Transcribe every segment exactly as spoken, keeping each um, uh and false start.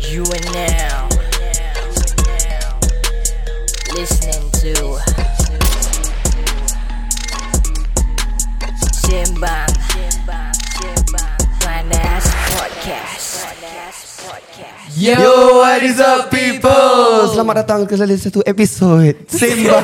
You are now listening to Sembang Panas Podcast. Yo, what is up people? Selamat datang ke salah satu episod Sembang.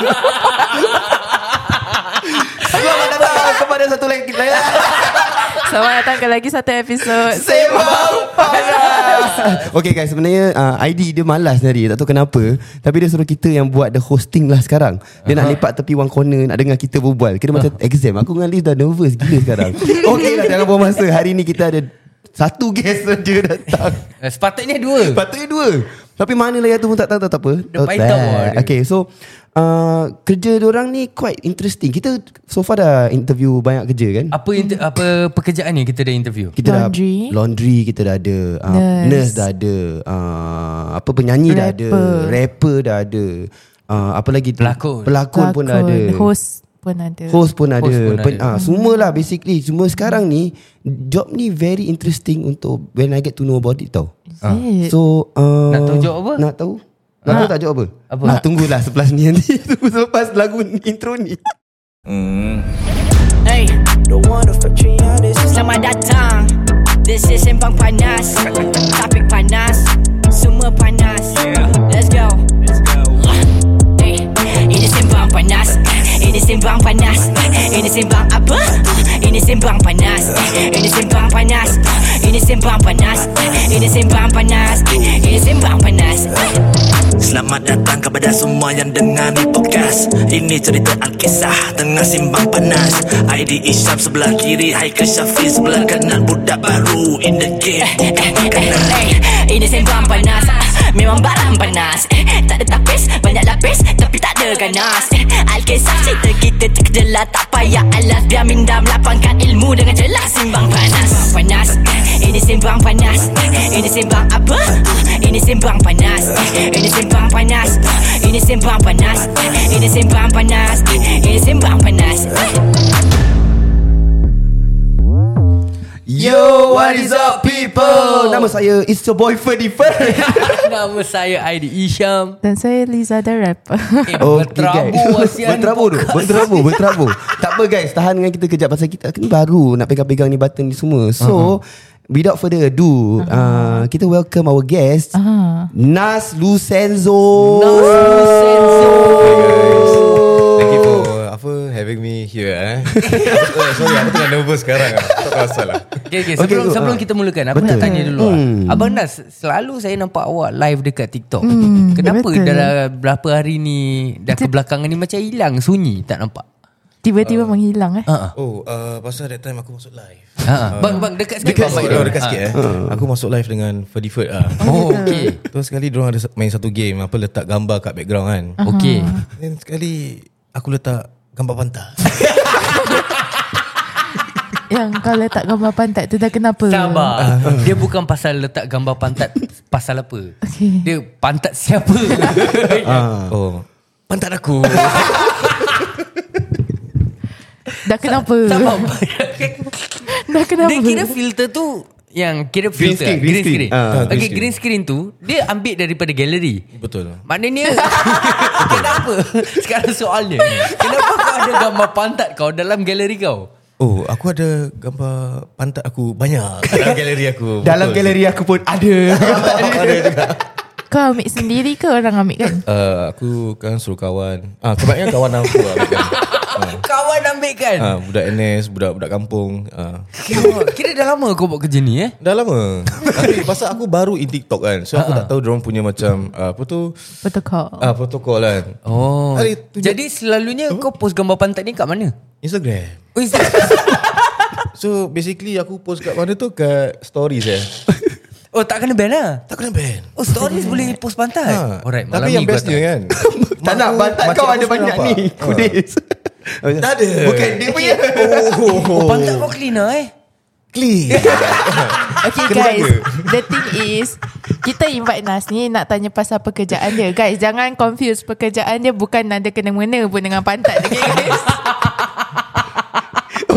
Selamat datang kepada satu lagi Selamat datang ke lagi satu episod Sembang Panas. Okay guys, sebenarnya uh, I D dia malas tadi, tak tahu kenapa. Tapi dia suruh kita yang buat the hosting lah sekarang. Dia uh-huh. nak lepak tepi one corner, nak dengar kita berbual. Kira macam exam. Aku dengan Liz dah nervous gila sekarang. Okay lah, jangan buang masa. Hari ni kita ada satu guest saja datang. Sepatutnya dua. Sepatutnya dua. Tapi mana lah yang tu pun tak tahu, tak, tak apa. Dia paitau lah. Okay, so uh, kerja diorang ni quite interesting. Kita so far dah interview banyak kerja kan. Apa inter- apa pekerjaan ni kita dah interview? Kita Laundry. dah laundry kita dah ada, uh, nurse. nurse dah ada, uh, apa penyanyi rapper. dah ada, rapper dah ada, uh, apa lagi tu? Pelakon. Pelakon pun dah ada. Host pun ada. Host pun ada. Host pun Pen, ada. ah, semualah basically. Semua sekarang ni job ni very interesting untuk when I get to know about it tau. Is it? So uh, Nak tahu job apa? Nak tahu? Nak tahu tak job apa? Apa? Ah, tunggulah selepas ni nanti. Tunggu selepas lagu intro ni. Hey, selamat datang. This is Sembang Panas. Topik panas, semua panas. Let's go. Hey, ini Sembang Panas. Ini Sembang Panas. Ini Sembang apa? Ini Sembang Panas. Ini Sembang Panas. Ini Sembang Panas. Ini Sembang Panas. Ini Sembang Panas. Selamat datang kepada semua yang dengar ni podcast. Ini cerita Alkisah tengah simbang panas. I D Isyam sebelah kiri, Haikal Syafiq sebelah kanan. Budak baru in the game, bukan makanan. Ini Sembang Panas. Memang barang panas. Tak ada tapis, banyak lapis, tapi tak ada ganas. Alkisah cerita kita terkejelah, tak payah alas. Biar minda melapangkan ilmu dengan jelas. Sembang Panas. Panas. Ini Sembang Panas. Ini Sembang apa? Ini Sembang Panas. Ini Sembang Panas. Ini Sembang Panas. Ini Sembang Panas. Ini Sembang Panas. Yo, what is up people? Nama saya It's your boy Ferdy Ferdy. Nama saya Aidi Isyam. Dan saya Liza the rapper. Eh, berterabur Asian Berterabur tu Berterabur Berterabur Tak apa guys, tahan dengan kita kejap. Pasal kita ni baru nak pegang-pegang ni button ni semua. So uh-huh. without further ado, uh-huh. uh, kita welcome our guest, uh-huh. Nas Lucenzo. Nas Lucenzo. Hey guys, thank you for apa having me here eh. oh, sorry, aku tengah nervous sekarang. Tak pasal lah. Okay, okay. Sebelum, Okay, sebelum uh, kita mulakan, aku betul. nak tanya dulu Hmm. lah. Abang Nas, selalu saya nampak awak live dekat TikTok. Hmm, Kenapa betul. dah berapa hari ni, dah kebelakangan ni macam hilang, sunyi, tak nampak? Tiba-tiba uh, menghilang eh. Uh-uh. Oh, uh, pasal that time aku masuk live. Uh-uh. Bang, bang, dekat sikit. Dekat bang, sikit, bang. oh, dekat sikit eh. Aku masuk live dengan Ferdy Ferdy ah. Oh, okay. Terus sekali diorang ada main satu game, apa letak gambar kat background kan. Okay. Dan sekali aku letak gambar pantat. Yang kau letak gambar pantat tu dah kenapa? Sabar. Dia bukan pasal letak gambar pantat. Pasal apa? Okay. Dia pantat siapa? Oh, pantat aku. Dah kenapa? Sabar. Dah kenapa? Dia kira filter tu yang kira Green filter screen, green green screen. screen. Ah, Okay, green green screen tu dia ambil daripada galeri. Betul. Maknanya kenapa? Sekarang soalnya, kenapa kau ada gambar pantat kau dalam galeri kau? Oh, aku ada gambar pantat aku banyak dalam galeri aku. Dalam Betul. galeri aku pun ada. Ada juga. Kau ambil sendiri ke orang ambil kan? Uh, aku kan suruh kawan. Ah, kebanyakan kawan aku lah ambil kan. Kawan ambil kan? Ah, budak N S, budak-budak kampung. Ah. Kira, kira dah lama kau buat kerja ni eh? Dah lama. Tapi pasal aku baru in TikTok kan. So aku tak tahu diorang punya macam uh, apa tu? Protokol. Ah, protokol kan. Oh. Hari tu Jadi selalunya kau post gambar pantat ni kat mana? Instagram. Oh, Instagram. So basically aku post kat mana tu? Kat stories eh. Oh, tak kena ban lah. Tak kena ban. Oh, stories boleh post pantat. Ha. Alright, malam Tapi yang ni gua bestnya tak- kan. Tak nak bantat Macam kau aku ada suka banyak nampak. ni. Kudis. Tak ada. Bukan dia punya. Oh, pantat kau cleaner eh? Clean. Okay Kena guys, jaga. the thing is kita invite Nas ni nak tanya pasal pekerjaan dia. Guys, jangan confuse pekerjaan dia bukan ada kena-mengena pun dengan pantat. Okay guys.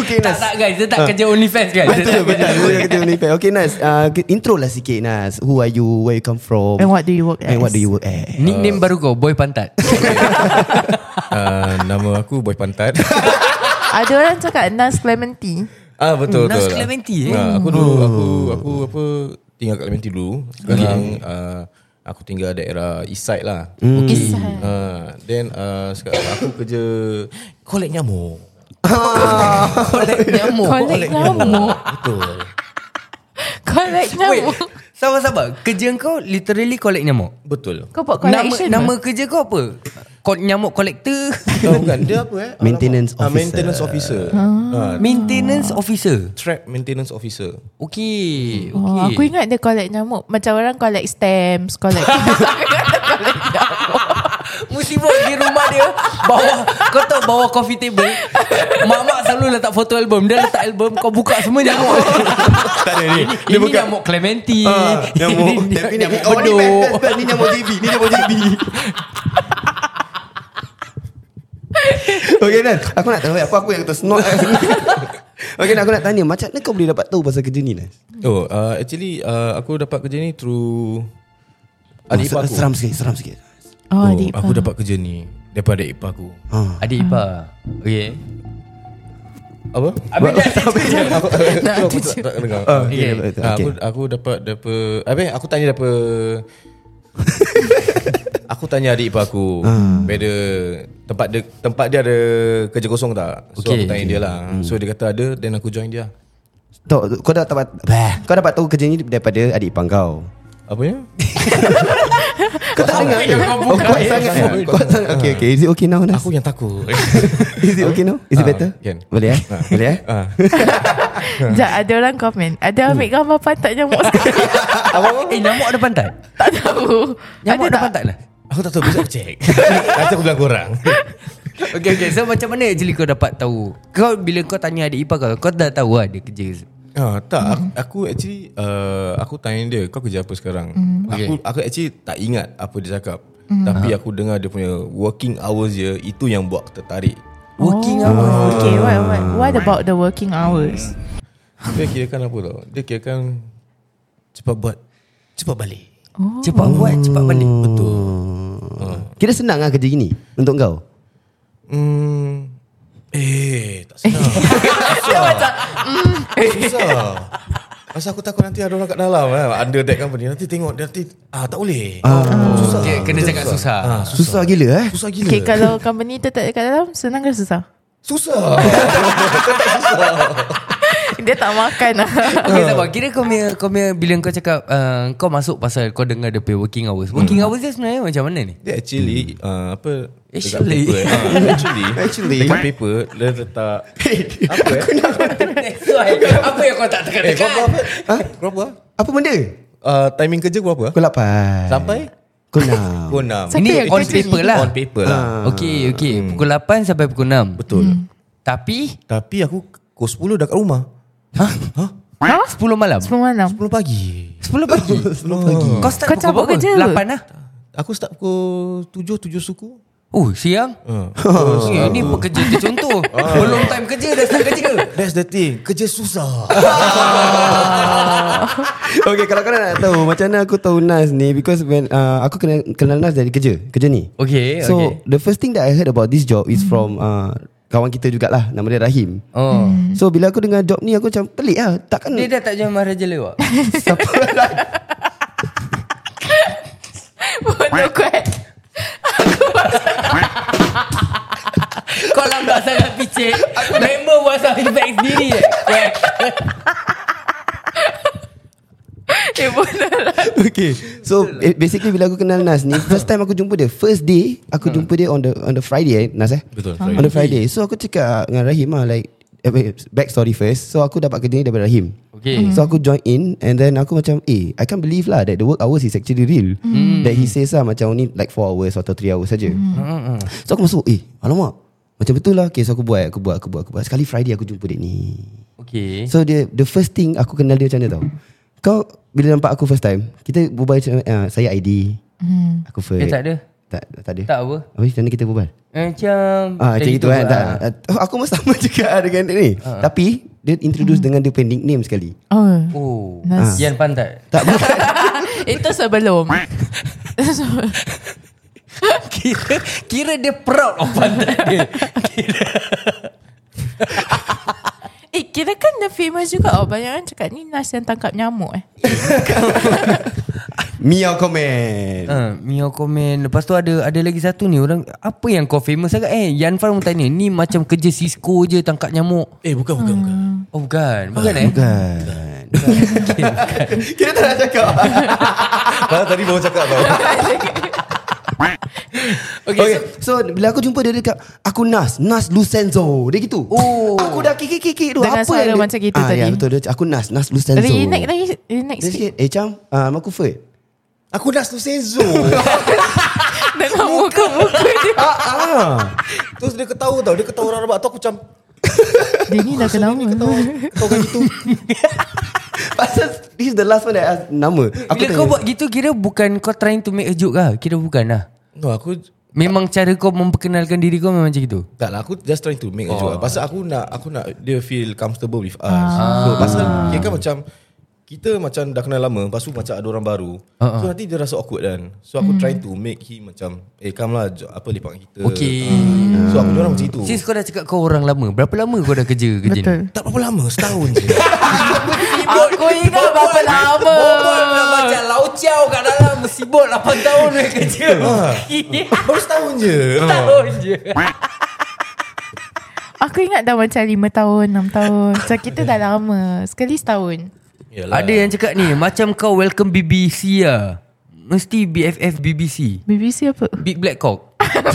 Okay Tak Nas. tak guys, dia tak kerja OnlyFans guys. Dia Betul tak betul. kerja Dia kata OnlyFans. Okay Nas, uh, intro lah sikit Nas. Who are you? Where you come from? And what do you work as? And what do you work as? Nickname baru kau, Boy Pantat. uh, Nama aku Boy Pantat. Ada orang cakap Nas Clementi. Ah betul Nas betul. Clementi, eh? Nah, aku dulu aku aku apa tinggal kat Clementi dulu. Sekarang uh, aku tinggal daerah East Side lah. East Side. Uh, then uh, sekarang aku kerja collect nyamuk. Collect nyamuk. Collect nyamuk. Betul. Collect Wait, nyamuk. sabar-sabar. Kerja kau literally collect nyamuk? Betul. Kau buat Nama, collection nama ke? kerja kau apa? Ko- nyamuk collector? Oh, bukan dia apa eh? Maintenance Ah, officer. maintenance officer. Ah, Maintenance officer. trap maintenance officer. Okay, Oh, okay. aku ingat dia collect nyamuk. Macam orang collect stamps, collect collect nyamuk. Musibah di rumah dia bawah, kau tahu bawah coffee table, mak-mak selalu letak foto album. Dia letak album, kau buka semua nyamuk. Tak ada ni. Ini, ini nyamuk Clementi. Ah, nyamuk. Ini Tapi nyamuk oh, ni bedok. best, best, best. Ni nyamuk J B. Ni nyamuk J B. Okay Nas, aku nak tahu apa aku yang tersnot. Okay Nas, aku nak tanya macam mana kau boleh dapat tahu pasal kerja ni Nas? Oh, uh, actually uh, aku dapat kerja ni through adik ipar aku. Seram sikit, seram sikit. Oh, Oh, adik aku ipar. dapat kerja ni daripada adik ipar aku. Ah. Adik ipar. Okay. Apa? Habis dah Aku aku aku tak tak dengar. Oh, Okay. okay, betul, Ah, okay. Aku aku dapat daripada Habis aku tanya daripada Aku tanya adik ipar aku whether tempat dia tempat dia ada kerja kosong tak. So Okay, aku tanya okay. dia lah. So dia kata ada, then aku join dia. Tahu, kau dah dapat bah, kau dapat tahu kerja ni daripada adik ipar kau. Apa ya? Kau tak dengar ke? Oh, kuat sangat. Kuat sangat. Okay, okay. Is it okay now, Nas? Aku yang takut. Is it okay now? Is it Ah, better? can. Boleh eh? Ah. Boleh eh? Ah. Sekejap, ada orang komen. Ada ambil gambar pantat nyamuk sekarang. Eh, nyamuk ada pantat? Tak tahu. Nyamuk Ada ada tak? pantat lah. Aku tak tahu, besok aku check. Nanti aku bilang korang. Okay, okay. So macam mana actually kau dapat tahu? Kau bila kau tanya adik ipar kau, kau dah tahu lah dia kerja. Ah, tak, aku, aku actually uh, aku tanya dia, kau kerja apa sekarang? Aku aku actually tak ingat apa dia cakap. Tapi aku dengar dia punya working hours je, itu yang buat aku tertarik. Working Oh, hours. okay, what, what, what about the working hours? Dia kirakan apa tau? Dia kirakan cepat buat, cepat balik. Oh. Cepat buat, cepat balik. Betul. Kira senang lah kerja gini untuk kau? Hmm, eh, tak senang. Susah. Susah. Masa aku takut nanti ada orang kat dalam eh, under that company. Nanti tengok dia nanti ah tak boleh. Susah. Okay, kena cakap susah. Ah, Susah gila eh? Susah gila. Okay, kalau company tu tak dekat dalam, senang ke susah? Susah. Dia tak makan lah. Okay, sabar. Kira kau punya, kau punya bila kau cakap uh, kau masuk pasal kau dengar dia punya working hours. Working hours dia sebenarnya macam mana ni? Dia actually uh, apa dekat Actually. paper, uh, actually Actually. dekat paper dia letak apa eh? That's why. Apa yang kau tak Eh, tekan-tekan? kau apa? Ha? Kau apa? Apa benda? Uh, timing kerja kau apa? Pukul lapan. Sampai Pukul enam. pukul enam. Siapa Ini yang on kerja paper ni? lah. On paper lah. Okay, okay. Pukul lapan sampai pukul enam. Betul. Tapi Tapi aku pukul sepuluh dah kat rumah. Hah? Hah? sepuluh malam? Sepuluh malam. sepuluh pagi. sepuluh pagi? sepuluh pagi. Kau start Kau pukul cabut berapa? kerja? lapan lah? Aku start pukul tujuh, tujuh suku. Oh, siang? Uh. Okay, ini pekerja tercontoh. Belum time kerja dah start kerja. That's the thing. Kerja susah. Okay, kalau kau nak tahu macam mana aku tahu Nas ni, because when uh, aku kenal, kenal Nas dari kerja, kerja ni. Okay, So okay. the first thing that I heard about this job is from uh, kawan kita jugalah, nama dia Rahim. Oh. So bila aku dengar job ni aku macam pelik lah. Takkan Dia dah tak jual Maharaja lewat. siapa lah. Bodoh kuat. Kau lambat sangat picit. Member buat sound effect sendiri je. Eh, bodoh lah. Okay, so eh, basically bila aku kenal Nas ni, first time aku jumpa dia, first day aku jumpa dia on the on the Friday eh, Nas eh. Betul. On the Friday. So aku cakap dengan Rahim lah, like eh, wait, back story first. So aku dapat kerja ni daripada Rahim. Okay. So aku join in, and then aku macam eh I can't believe lah that the work hours is actually real. That he says lah macam only like four hours atau three hours saja. So aku masuk, eh alamak, macam betul lah. Okay, so aku buat Aku buat Aku buat, aku buat. Sekali Friday aku jumpa dia ni. Okay. So dia, the first thing aku kenal dia macam mana tau. Kau bila nampak aku first time, kita berbual macam uh, saya I D. Aku first. Dia tak ada. Tak, tak ada. Tak apa. Habis macam mana kita berbual? Macam Ah, macam itu kan. lah. Tak. Oh, aku pun sama juga dengan ni. Ah. Tapi dia introduce dengan dia punya nickname sekali. Oh, Oh Nas- Yan pantat. Tak bukan. itu sebelum. Kira Kira dia proud of pantat dia. Eh, kira kan dia famous juga. Oh, banyak orang cakap ni Nas yang tangkap nyamuk eh. Miao komen. Ha, Mio komen. Lepas tu ada ada lagi satu ni orang, apa yang kau famous sangat eh? Yan Fan pun tanya, ni macam kerja Cisco je tangkap nyamuk. Eh bukan bukan bukan. Oh bukan. Bukan eh? Bukan. Okay, bukan. Kita tak nak cakap. Padahal tadi baru cakap tau. Okay, okay so, so bila aku jumpa dia, dia cakap aku Nas, Nas Lucenzo. Dia gitu. Oh. Aku dah kiki-kiki tu. Dengan Apa suara yang dia- macam gitu ah, tadi. Ya betul, dia, aku Nas, Nas Lucenzo. Renake lagi. Renake Dia sikit. sikit, eh Cam, uh, aku Ferd. Aku Nas Lucenzo. Dengan muka-muka dia. ah, ah. Terus dia ketawa tau. Dia ketawa orang rabak tu aku macam Dia ni dah kenal. ketawa kan gitu. Pasal this is the last one that I ask nama. Aku Bila kau buat gitu, kira bukan kau trying to make a joke lah. Kira bukan lah. No, aku Memang cara kau memperkenalkan diri kau memang macam gitu. tak lah, aku just trying to make a joke. Pasal aku nak aku nak dia feel comfortable with us. So pasal dia kan macam kita macam dah kenal lama, lepas tu macam ada orang baru. Uh-uh. So nanti dia rasa awkward kan. So aku try to make him macam eh come lah jo- apa lepak dengan kita. Okay. Ah. So aku orang macam itu. Since kau dah cakap kau orang lama, berapa lama kau dah kerja kerja Betul. ni? Tak berapa lama, setahun je. Aku ingat berapa lama. Bobot nak macam lauciao kat dalam sibuk lapan tahun dia kerja. Baru setahun je. Tahun je. Aku ingat dah macam lima tahun, enam tahun. So kita dah lama. Sekali setahun. Yalah. Ada yang cakap ni, macam kau welcome B B C lah. Mesti B F F B B C. B B C apa? Big Black Cock.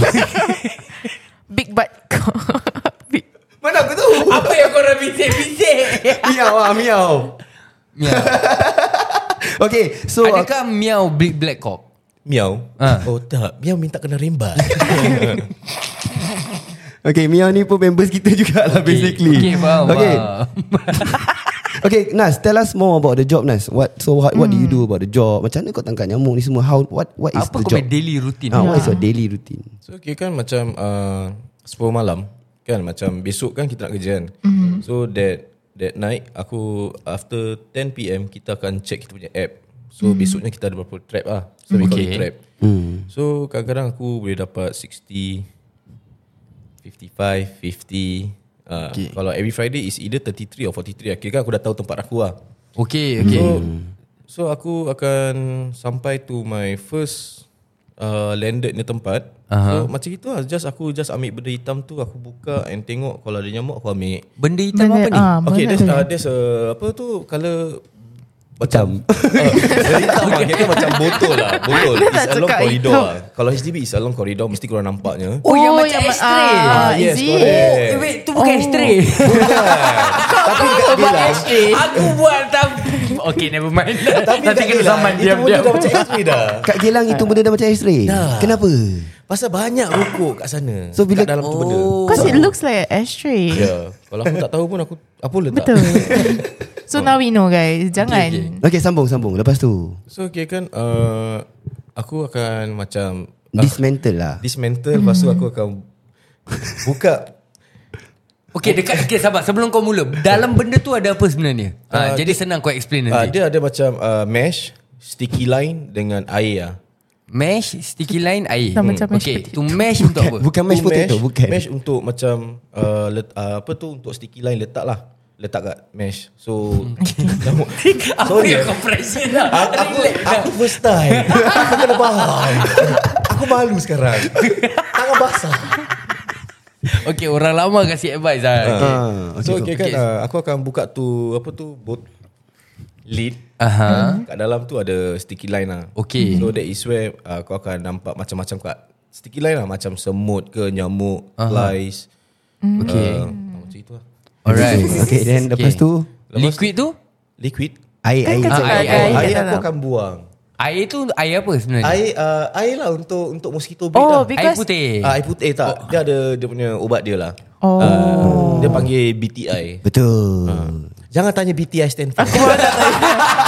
Big butt. Big. Mana aku tahu? Apa yang kau orang bisik-bisik? Miau ah, miau. Miau. Okay, so Adakah miau Big Black Cock? Miau. Ah. Oh tak, Miau minta kena rembat. okay, Miau ni pun members kita jugalah okay, basically. Okay, faham. Okay. faham. Okay, Nas, tell us more about the job, Nas. What so what, what do you do about the job? Macam mana kau tangkap nyamuk ni semua? How what what is Apa the kau job? punya daily routine? Ah, what is your daily routine? So okay kan macam uh, sepuluh malam kan, macam besok kan kita nak kerja kan. Mm-hmm. So that that night aku after ten p m kita akan check kita punya app. So mm-hmm. besoknya kita ada berapa trap lah. So we call it Okay. trap. Hmm. So kadang-kadang aku boleh dapat sixty, fifty-five, fifty. Uh, okay. Kalau every Friday is either thirty-three or forty-three. Kira kan aku dah tahu tempat aku lah. Okay, okay. So, so aku akan sampai to my first uh, landed ni tempat. Aha. So macam itu lah. Just aku just ambil benda hitam tu, aku buka and tengok kalau ada nyamuk aku ambil. Benda hitam Benda- apa ni? ah, Okay, mana there's, tu? uh, there's a apa tu color macam uh, dari hitam lah. Kira macam botol lah. Botol. Dia tak It's along cakap corridor hitam. lah. Kalau H D B is along corridor, mesti korang nampaknya. Oh, yang Oh, macam yang- ashtray. ah, yes, is it? correct. Eh, wait, tu bukan Oh. ashtray. Tapi dekat dia lah. Aku buat tapi okay, never mind. Tapi Nanti dekat kena dia lah. saman Itu diam-diam. benda dah macam X-ray dah. Kat Gelang itu benda dah macam X-ray. Dah. Kenapa? Pasal banyak rokok kat sana. So, bila- kat dalam tu benda. Oh. Because it looks like an ashtray. Ya, kalau aku tak tahu pun aku apa letak. Betul. So now we know guys. Jangan. Okay, Okay, sambung sambung. Lepas tu So okay kan uh, aku akan macam dismantle lah. dismantle, lepas tu aku akan buka. Okay, dekat okay, sabar. Sebelum kau mula, dalam benda tu ada apa sebenarnya? Ah, Uh, jadi senang kau explain Uh, nanti. dia ada macam uh, mesh, sticky line dengan air lah. Mesh, sticky line, air. Sama macam mesh Okay, potato. tu mesh untuk apa? Bukan mashed Tu potato, bukan. Mesh untuk macam uh, let, uh, apa tu untuk sticky line letak lah. Letak kat mesh. So nyamuk. Apa Sorry, yang eh. kau pressure lah? Aku, aku, aku first time. Aku kena faham. Aku malu sekarang. Tangan basah. Okay, orang lama kasih advice lah. Okay. Ah, So okay, okay. kan uh, aku akan buka tu apa tu bot lid. Aha. Kat dalam tu ada sticky line lah. Okay. So that is where uh, kau akan nampak macam-macam kat sticky line lah, macam semut ke, nyamuk, flies. Okay. Uh, macam itu lah. Alright. Okay, then lepas tu Liquid tu? Liquid. air air. Kan Ah, cakap air, ada air, air Air kat aku dalam. akan buang. Air tu air apa sebenarnya? Air uh, air lah untuk untuk mosquito bait Oh, lah. because Air putih. Ah, air putih tak. Dia ada dia punya ubat dia lah. Oh. Uh, dia panggil B T I. Betul. Jangan tanya B T I stand for.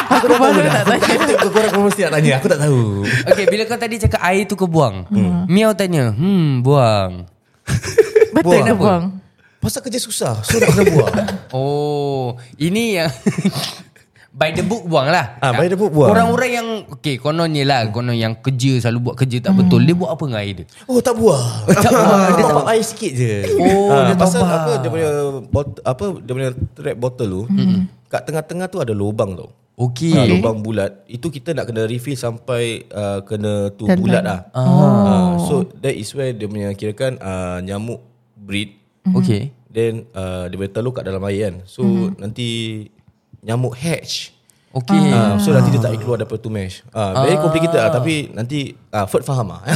Aku baru nak tanya. Korang kau mesti nak tanya. Aku tak tahu. Okay, bila kau tadi cakap air tu kau buang, hmm. Miao tanya, hmm, buang. Betul nak Kenapa? buang. Pasal kerja susah, so nak kena buang. Oh, ini yang by the book buang lah. Ah, by the book buang. Orang-orang yang okay, kononnya lah, konon yang kerja selalu buat kerja tak betul, dia buat apa dengan air dia? Oh, tak buang. Tak buang. Dia top air sikit je. Oh, Ah, dia pasal top up. apa dia punya bot, apa dia punya trap bottle tu, mm-hmm. kat tengah-tengah tu ada lubang tau. Okay. Ha, lubang bulat. Itu kita nak kena refill sampai uh, kena tu Dan bulat dan- lah. Oh. Uh, so that is where dia punya kirakan uh, nyamuk breed. Okay. Then uh, dia boleh telur kat dalam air kan. So mm-hmm. nanti nyamuk hatch. Okay. Uh, so nanti dia tak boleh keluar daripada tu mesh. Uh, very complicated lah. Tapi nanti uh, Ferd faham lah.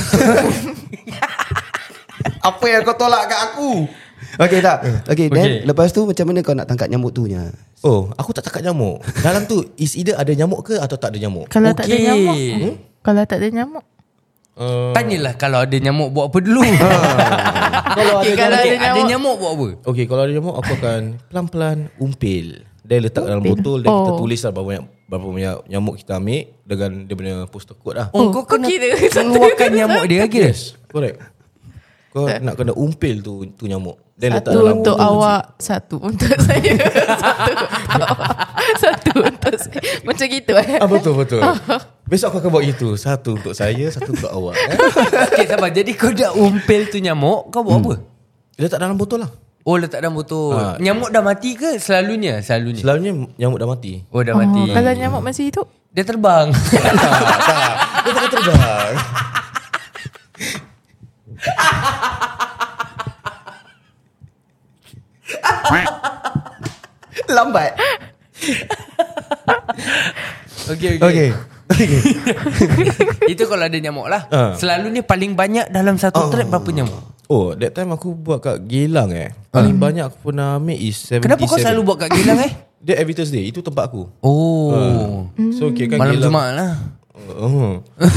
Apa yang kau tolak kat aku? Okay tak? Okay, then Okay. lepas tu macam mana kau nak tangkap nyamuk tu nya? Oh, aku tak tangkap nyamuk. Dalam tu is either ada nyamuk ke atau tak ada nyamuk. Kalau tak ada Okay. nyamuk. Hmm? Kalau tak ada nyamuk. Uh, Tanyalah kalau ada nyamuk buat apa dulu. kalau Okay, ada kalau Okay, ada ada nyamuk. nyamuk buat apa? Okay, kalau ada nyamuk aku akan pelan-pelan umpil. Dia letak dalam botol dan kita Oh. tulis lah berapa banyak berapa banyak nyamuk kita ambil dengan dia punya postal code lah. Oh, Oh, kau kau kena kira keluarkan nyamuk dia lagi. Yes, correct. Kau nak kena umpil tu tu nyamuk. Dia letak Satu dalam untuk botol awak, satu untuk saya. Satu untuk awak, satu untuk saya. Macam gitu eh. Ah, betul betul. Besok aku akan buat gitu. Satu untuk saya, satu untuk awak. Eh? Okay, sabar. Jadi kau dah umpil tu nyamuk, kau buat apa? Dia letak dalam botol lah. Oh, letak dalam botol. Ah. Nyamuk dah mati ke selalunya? Selalunya. Selalunya nyamuk dah mati. Oh, dah Oh, mati. kalau nyamuk masih hidup. Dia terbang. Dia tak terbang. Lambat. Okay, Okay. Itu kalau ada nyamuk lah. Ah. Selalunya paling banyak dalam satu trap berapa nyamuk? Oh, that time aku buat kat Geylang eh. Paling banyak aku pernah ambil is tujuh puluh tujuh. Kenapa kau selalu buat kat Geylang eh? Dia every Thursday. Itu tempat aku. Oh. So kira kan Malam Geylang. Jumaat lah. Oh.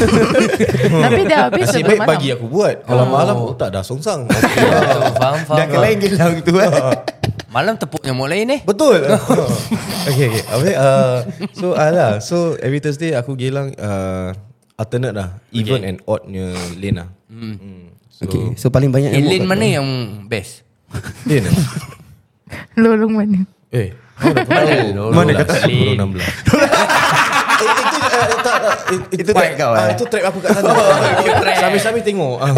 Tapi dah habis Nasib sebelum baik malam. pagi aku buat. Kalau malam oh, tak dah songsang. Oh, faham, faham. Dah ke lain Geylang tu eh. Malam tepuk nyamuk lain eh. Betul. Okay, okay. Habis, uh, so uh, lah. So every Thursday aku Geylang uh, alternate lah. Even and oddnya lane lah. Hmm. Hmm. So, Okay, so paling banyak Eh, nyamuk lane kat mana kau? yang best? lane lah. Lorong mana? Eh, mana tahu? Mana kata kata lane? enam belas. Eh, itu uh, tak, uh, Itu track kau, ah, eh? Itu trap aku kat sana. track. Sambil-sambil tengok. Ah.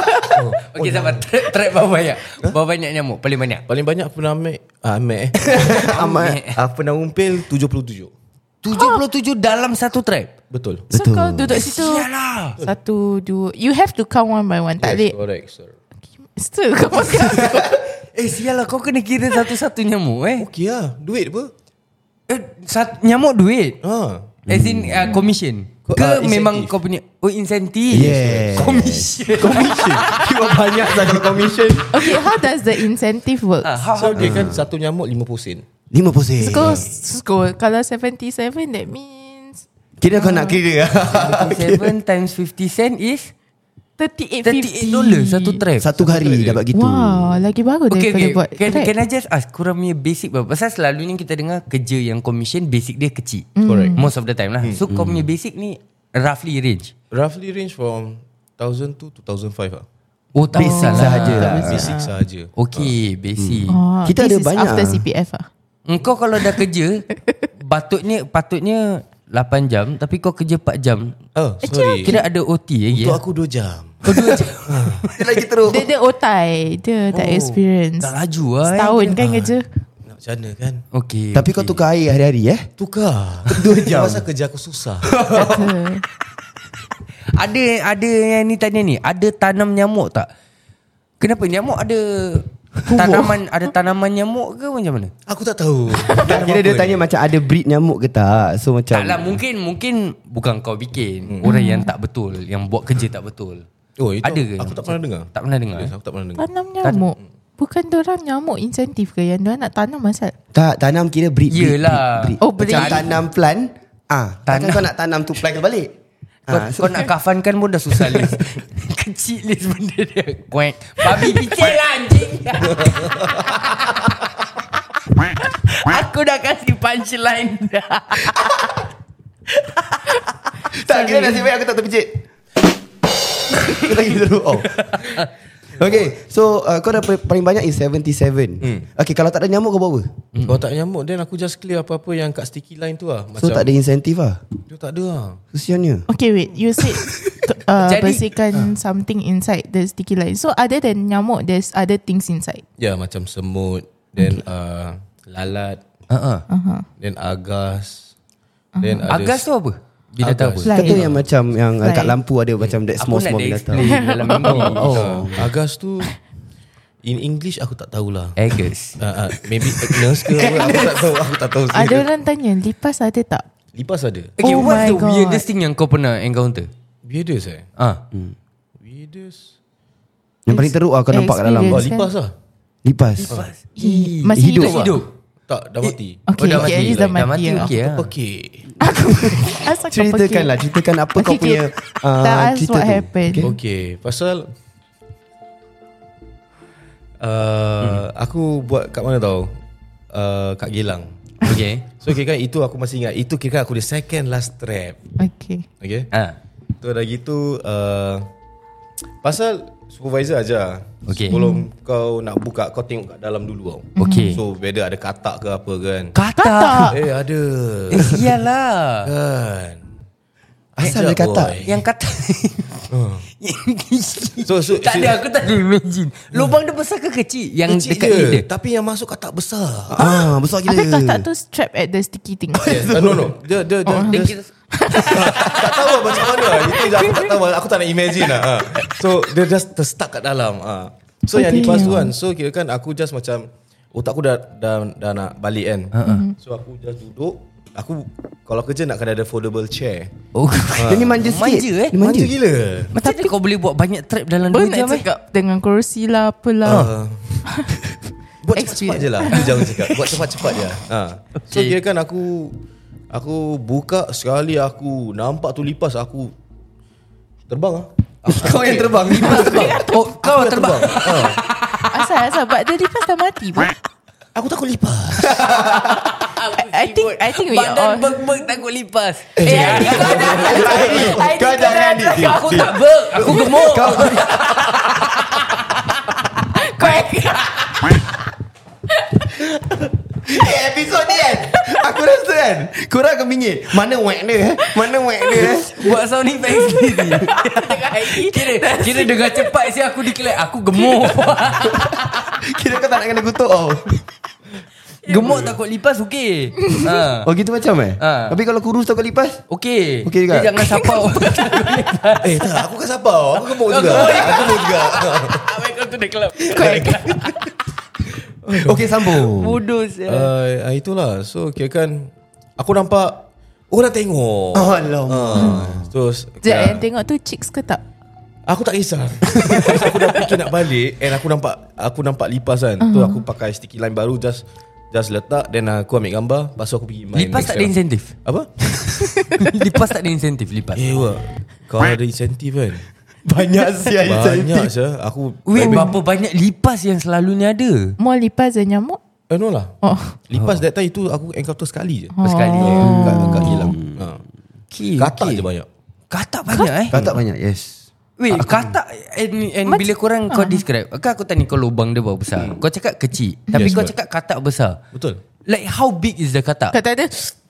Okay, sabar. Trap, trap berapa banyak? Berapa banyak nyamuk? Paling banyak? Paling banyak aku pernah ambil ah, ambil eh. Amat. Aku pernah umpil tujuh puluh tujuh. tujuh puluh tujuh dalam satu trap? Betul. So kau duduk situ. Sialah. Satu, dua. You have to count one by one. Tak boleh. Yes, correct, sir. Still kau pakai aku. Eh, sialah. Kau kena kira satu-satu nyamuk eh. Okey lah. Duit apa? Eh, sat, nyamuk duit? Ha. As in uh, commission? Ko- Ke ah, memang insentif. kau punya? Oh, insentif. Yes. Commission. Commission. Cuma banyak sangat commission. Okay, how does the incentive work? Ah, how, So dia kan satu nyamuk lima puluh sen. lima puluh sen. Score, score. Kalau seventy-seven, that means Kira kau nak kira. seven times fifty cent is thirty-eight thirty-eight fifty. dollars satu trap. Satu hari dapat gitu. Wow, lagi bagus Okay, daripada okay. buat Can, track. can I just ask, korang punya basic berapa? Pasal selalunya kita dengar kerja yang commission, basic dia kecil. Correct. Most of the time lah. So, kau punya basic ni roughly range? Roughly range from one thousand to two thousand five lah. Oh, tak Basic besar lah. sahaja lah. Basic sahaja. Okay, basic. Oh, Kita this ada is banyak. after C P F ah. Engkau kalau dah kerja, patutnya patutnya lapan jam, tapi kau kerja empat jam. Oh, sorry. Kira ada O T lagi Untuk ya? aku dua jam. Kau dua jam. Dia lagi teruk. Dia dia otai, dia tak experience. Dah laju lah. eh. Setahun kan kerja. Nak macam mana kan? Okay. Tapi kau tukar air hari-hari eh? Tukar. Dua jam. Pasal kerja aku susah. Kata. Ada ada yang ni tanya ni, ada tanam nyamuk tak? Kenapa nyamuk ada tanaman ada tanaman nyamuk ke macam mana? Aku tak tahu. Kira dia tanya macam ada breed nyamuk ke tak? So macam Taklah, mungkin mungkin bukan kau bikin. Orang yang tak betul, yang buat kerja tak betul. Oh, itu Ada ke? aku tak pernah dengar. Tak pernah dengar. Yes, eh? aku tak pernah dengar. Tanam nyamuk. Bukan diorang nyamuk insentif ke yang diorang nak tanam asal? tak tanam kira breed, breed, Yelah. breed, breed. Oh, breed. Macam tanam plant. Ah, takkan Tanam. kau nak tanam tu plant ke balik? Kau, Ah, so- kau nak kafankan pun dah susah Liz. Kecil Liz benda dia. Kuek. Babi kecil lah anjing. Aku dah kasih punchline dah. Tak kira nasib baik aku tak terpicit. Aku lagi terus oh. Okay, so uh, kau dah paling banyak is seventy-seven. hmm. Okay, kalau tak ada nyamuk kau buat apa? hmm. Kalau tak ada nyamuk, then aku just clear apa-apa yang kat sticky line tu lah. So tak ada insentif lah? Dia tak ada lah. Kesiannya. Okay wait, you said uh, Jadi- bersihkan something inside the sticky line. So other than nyamuk, there's other things inside. Ya, macam semut, then uh, lalat, uh-huh. Uh-huh. then agas, then ada Agas tu apa? Binatang apa? Agas. Fly. Kata yang macam yang Fly. kat lampu ada macam that Aku small nak small dia binatang. explain dalam mimpi. Oh. Agas tu in English aku tak tahulah. Agas. Uh, uh, maybe Agnes ke apa, aku tak tahu. Aku tak tahu. Ada orang tanya, lipas ada tak? Lipas ada. Okay, Oh what's my the God. weirdest thing yang kau pernah encounter? Weirdest eh? Ah, Weirdest. Yang paling teruk lah kau nampak kat dalam. Oh, Experience. lipas lah. Lipas. Hi- Masih Hidup hidup, tak? hidup. Tak, dah mati. Okay, Oh, dah okay, mati. at least dah Dah mati, mati, ya. okay lah. Pekik. Asal kau Ceritakan pergi? lah, ceritakan apa kau Okay, punya okay. uh, Tell us cerita what tu. happened. Okay. Okay, pasal uh, hmm. aku buat kat mana tau? Uh, kat Geylang. Okay. So kira kan itu aku masih ingat. Itu kira kan aku the second last trap. Okay. Okay. Ah, Tu dah gitu uh, pasal supervisor aja. Okay. Sebelum kau nak buka, kau tengok kat dalam dulu tau. Okay. So whether ada katak ke apa kan. Kata. Eh ada. Eh, iyalah. Kan. Asal Ajak, dia katak? boy. Yang kata So, so tak ada, aku tak ada imagine. Lubang dia besar ke kecil? Yang kecil dekat je, ni dia. tapi yang masuk katak besar. Ah, besar gila. Habis katak tu strap at the sticky thing. Yes. Uh, no no. Dia dia dia, dia, Dia tak tahu lah macam mana. Itu je aku tak tahu. Aku tak nak imagine lah. Ha. So dia just terstuck kat dalam. Ha. So yang Okay. lipas tu kan. So kira kan aku just macam otak aku dah dah, dah nak balik kan. So aku just duduk. Aku kalau kerja nak kena ada foldable chair. Oh, Dia ni manja sikit. Manja eh. Dia manja. Manja gila. Macam mana kau boleh buat banyak trap dalam Baru dua jam nak eh? cakap dengan kerusi lah apalah. Uh, buat cepat-cepat je lah. Itu jangan cakap. Buat cepat-cepat je. Ha. So Okay. kira kan aku aku buka sekali aku nampak tu lipas aku terbang ah. Kau yang terbang. Oh, kau terbang. Ha. Asal-asal but the lipas dah mati pun. Aku takut lipas. I think I think we Badan all beg-beg takut lipas. Eh, I think kau jangan. Kau jangan ni. Aku tak beg, aku gemuk. Eh, episod ni kan aku rasa kan korang akan bingit. Mana whack dia eh? Mana whack dia eh? Buat sound effect sendiri. Kira Kira dengar cepat si aku declare aku gemuk. Kira kau tak nak kena kutuk tau. Gemuk takut lipas okey. Ha. Oh gitu macam eh? Ha. Tapi kalau kurus takut lipas? Okey. Okey juga. Dia jangan sapau. Eh tak, aku kan sabar. Aku gemuk juga. Aku gemuk juga. Welcome to the club. Okey sambung. Bodoh saya. Uh, itulah. So kira kan aku nampak orang tengok. Oh alamak. Uh, terus Sekejap, yang tengok tu chicks ke tak? aku tak kisah. Terus aku dah fikir nak balik and aku nampak aku nampak lipas kan. Tu aku pakai sticky line baru just just letak then aku ambil gambar, lepas tu aku pergi main. Lipas next tak ada round. insentif. Apa? Lipas tak ada insentif lipas. Eh wah. Kau ada insentif kan? Banyak siap Banyak je. Aku Wait, berapa banyak lipas yang selalunya ada? More lipas dan nyamuk? Eh no lah. Oh. Lipas that time itu aku encounter sekali je. Oh. Sekali je. Kat, kat hilang. Ha. Okay, Katak okay. je banyak. Katak banyak eh. Katak banyak yes. Wait, katak and, and bila korang kau describe, kan aku tanya kau lubang dia berapa besar. Kau cakap kecil, tapi Yes, kau but- cakap katak besar. Betul. Like how big is the katak? Kata ada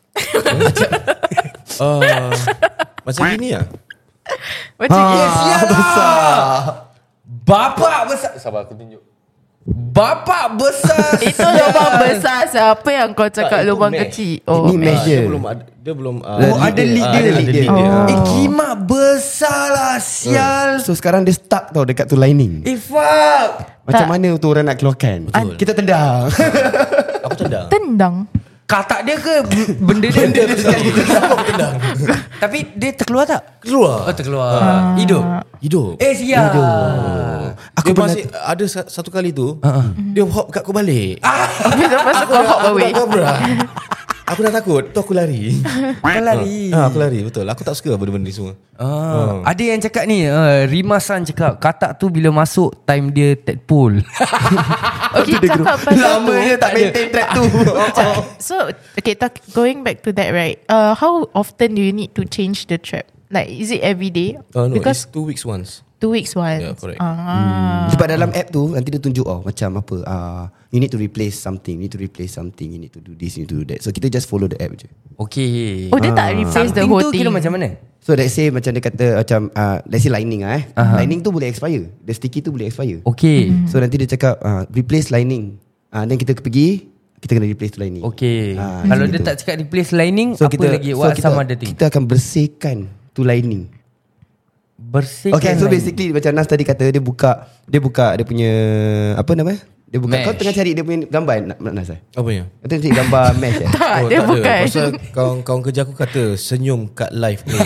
Uh, macam gini lah. macam yes, Ah, besar. Bapak besar. Sabar aku tunjuk. Bapak besar. itu lubang besar. Siapa yang kau cakap Tak, itu lubang mesh. kecil? Oh, Ini mesh Ah, dia. dia belum ada dia belum uh, Oh, ada lead dia, ada lead dia. lead dia. Oh. Eh kimak besar lah sial. So sekarang dia stuck tau dekat tu lining. Eh fuck. Macam Tak. mana tu orang nak keluarkan? Betul. Kita tendang. Aku tendang. tendang. Katak dia ke b- benda dia? Benda dia sekali. Aku tendang. Tapi dia terkeluar tak? Keluar. Oh terkeluar. Hidup. Hidup. Eh sial. Aku dia masih ada sa- satu kali tu uh-uh. dia hop kat aku balik. Habis lepas tu kau hop away. Aku dah kabra. Aku dah takut. Tu aku lari. Kau lari. Ah, aku lari betul. Aku tak suka benda-benda ni semua. Ah, ada yang cakap ni uh, Rimasan cakap katak tu bila masuk time dia tadpole. Okay, cakap pasal Lama tu. je tak maintain track tu. So, okay, talk, going back to that, right? Uh, how often do you need to change the trap? Like, is it every day? Oh no, Because it's two weeks once. two weeks once. Yeah, correct. Ah. Sebab dalam app tu nanti dia tunjuk oh macam apa uh, you need to replace something, you need to replace something, you need to do this, you need to do that. So kita just follow the app je. Okay. Oh, dia tak replace the Something whole tu thing. kira macam mana? So let's say macam dia kata macam uh, let's say lining ah eh. Uh-huh. Lining tu boleh expire. The sticky tu boleh expire. Okay. So nanti dia cakap uh, replace lining. Ah uh, then kita pergi kita kena replace tu lining. Okay. Ah, Kalau macam dia gitu. tak cakap replace lining, So apa kita lagi? so What kita, some other thing? kita akan bersihkan tu lining. Bersihkan Okay, so lining. basically macam Nas tadi kata dia buka dia buka dia punya apa nama? Dia buka Mesh. kau tengah cari dia punya gambar nak Nas eh? Apanya? Kau tengah cari gambar mesh eh? Tak, Oh, dia tak ada. bukan. Pasal kawan-kawan kerja aku kata senyum kat live ni.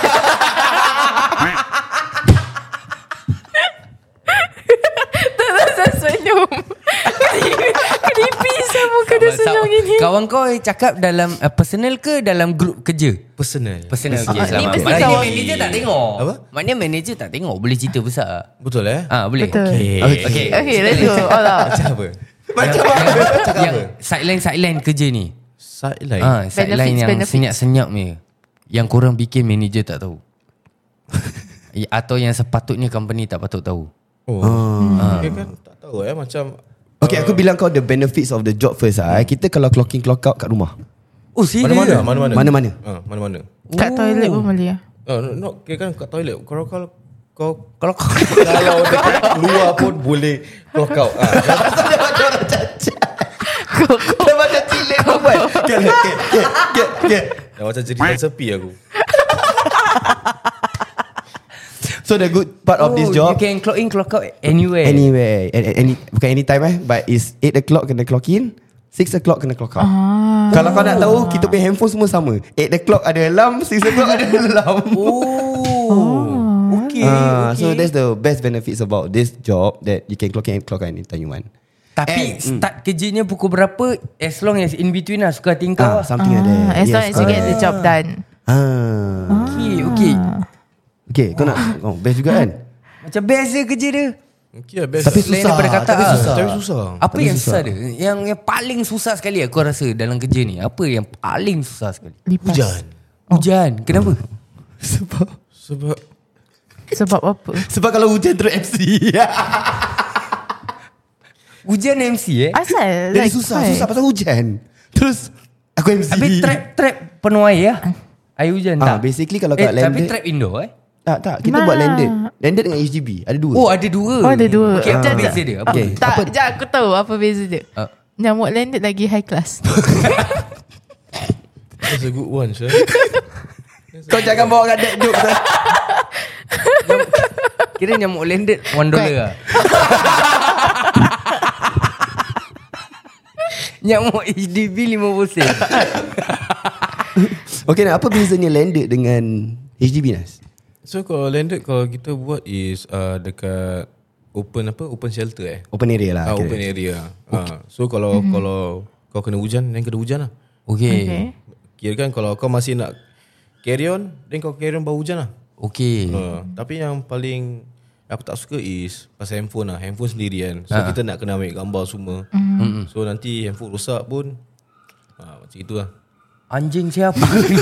Saya senyum. Creepy saya muka dia senyum gini. Kawan kau cakap dalam uh, personal ke dalam grup kerja? Personal. Personal. Okay, Ah, ni selamat. mesti Maknanya kawan- manager tak tengok. Apa? Maknanya manager tak tengok. Boleh cerita besar. Betul eh? Ah, boleh. Betul. Okay. Okay. Okay, let's go. All out. Macam apa? Macam apa? Yang sideline-sideline kerja ni. Sideline. Ah, sideline yang benefits. senyap-senyap ni. Yang korang bikin manager tak tahu. Ya, atau yang sepatutnya company tak patut tahu. Oh. Okay kan tak tahu eh macam Okay, aku bilang kau the benefits of the job first ah. Kita kalau clock in clock out kat rumah. Oh, serius? mana-mana, mana-mana. Mana-mana. Ah, mana-mana. Kat toilet pun boleh. Oh, no, no, kira kan kat toilet. Kalau kalau kau kalau kalau dekat luar pun boleh clock out. Ah. Dah macam cilik kau buat. Okay, okay, okay, okay. Dah macam cerita sepi aku. So the good part of Oh, this job you can clock in, clock out anywhere. anywhere, any, any bukan anytime eh, but is eight o'clock kena clock in, six o'clock kena clock out. Ah. Kalau kau nak tahu, kita punya handphone semua sama. eight o'clock ada alarm, six o'clock ada alarm. Oh. Okay, Ah, okay. so that's the best benefits about this job, that you can clock in, clock out anytime you want. Tapi And- start kerjanya pukul berapa? As long as in between lah. Suka hati kau Ah, lah. something like that. As long as you get the job done. Ah. Okay, okay. Okay, kau nak oh, best juga kan? Macam best je kerja dia. Okay, best. Tapi Selain susah, daripada kata tapi ah. susah. Tapi susah. Apa Tapi yang susah. susah dia? Yang, yang paling susah sekali aku rasa dalam kerja ni. Apa yang paling susah sekali? Lipas. Hujan. Hujan. Kenapa? Sebab Sebab Sebab apa? sebab kalau hujan terus M C. Hujan M C eh? Asal Jadi like, susah, why? susah pasal hujan. Terus aku M C. Habis trap-trap penuh air ya? Air hujan Ah, tak? basically kalau eh, kat Tapi landed trap indoor eh? tak tak kita Nah. buat landed. Landed dengan H D B ada dua. Oh ada dua. Oh, ada dua. Okay, apa Ah. beza dia? Apa? Okay. Tak, Apa? sekejap aku tahu apa beza dia. Ah. Nyamuk landed lagi high class. that's a good one, sir. Kau jangan bawa kat that joke sah. Kira nyamuk landed one dollar lah. Nyamuk H D B lima puluh sen. Okay, nah, apa bezanya landed dengan H D B Nas? So kalau landed kalau kita buat is uh, dekat open apa open shelter eh. Open area lah. Ah, kira. open area. Okay. Ah, so kalau mm-hmm. kalau kau kena hujan, then kena hujan lah. Okay. Okay. Kira kan kalau kau masih nak carry on, then kau carry on bawa hujan lah. Okay. Uh, tapi yang paling aku tak suka is pasal handphone lah. Handphone sendiri kan. So Ha. kita nak kena ambil gambar semua. Mm-hmm. So nanti handphone rosak pun ah, macam itu lah. Anjing siapa?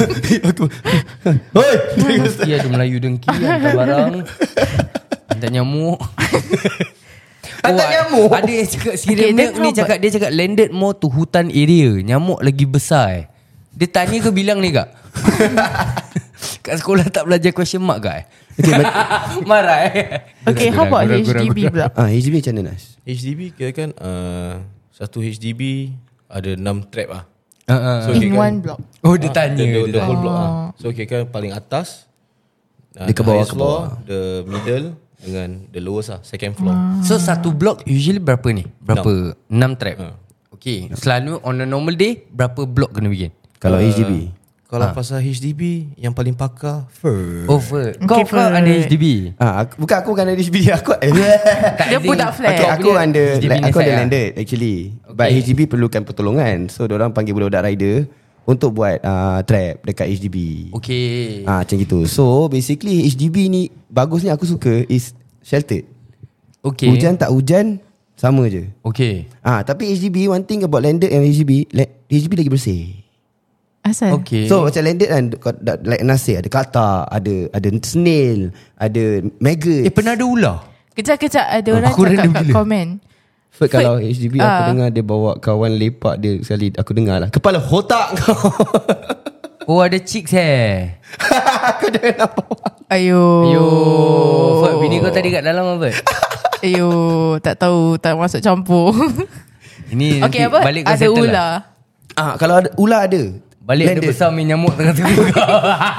Hoi. Mesti ada Melayu dengki hantar barang. Hantar nyamuk. Hantar nyamuk? Ada yang cakap Cereal Okay, Milk then ni how cakap dia cakap landed more to hutan area. Nyamuk lagi besar eh. Dia tanya ke bilang ni kak? Kat sekolah tak belajar question mark kak eh? Okay, but, Marah eh? Okay, how about H D B pula? ah, H D B macam mana Nas? H D B kira kan uh, satu H D B ada enam trap lah. Uh, uh. So, In kira kan- one block. Oh dia Ah, tanya the, the, dia the whole tanya. block lah. So kira kan paling atas uh, Dia ke the bawah, highest ke floor, bawah. the middle dengan the lowest lah, second floor. So satu block usually berapa ni? Berapa? enam trap. Ha. Okay. Selalu on a normal day berapa block kena bikin? Kalau Uh, H D B Kalau pasal H D B yang paling pakar Fur. Over. Kau Okay, kau fine. ada H D B? ah, aku, bukan aku bukan ada H D B aku Tak, Dia as in, budak flat. Okay, kau aku punya under H D B like, ni aku side ada lah. landed actually. But Okay. H D B perlukan pertolongan. So diorang panggil budak-budak rider untuk buat uh, trap dekat H D B. Okay. Ah, macam gitu. So basically H D B ni bagusnya aku suka is sheltered. Okay. Hujan tak hujan sama je. Okay. Ah, tapi H D B one thing about landed and H D B, H D B lagi bersih. Asal? Okay. So macam landed kan, like Nasir ada katak, ada ada snail, ada maggot. Eh pernah ada ular? Kejap-kejap ada orang Aku cakap random kat gila. komen. Ferd, kalau H D B aku Ah. dengar dia bawa kawan lepak dia sekali, aku dengar lah. Kepala otak kau. Oh ada chicks eh. Kau jangan nampak. Ayo. Yo, Ferd, bini kau tadi kat dalam apa? Ayo, tak tahu, tak masuk campur. Ini Okay, nanti apa? balik kau Ada settle ular. lah. Ah, kalau ada ular ada. Balik ada Landed. besar main nyamuk tengah tubuh kau.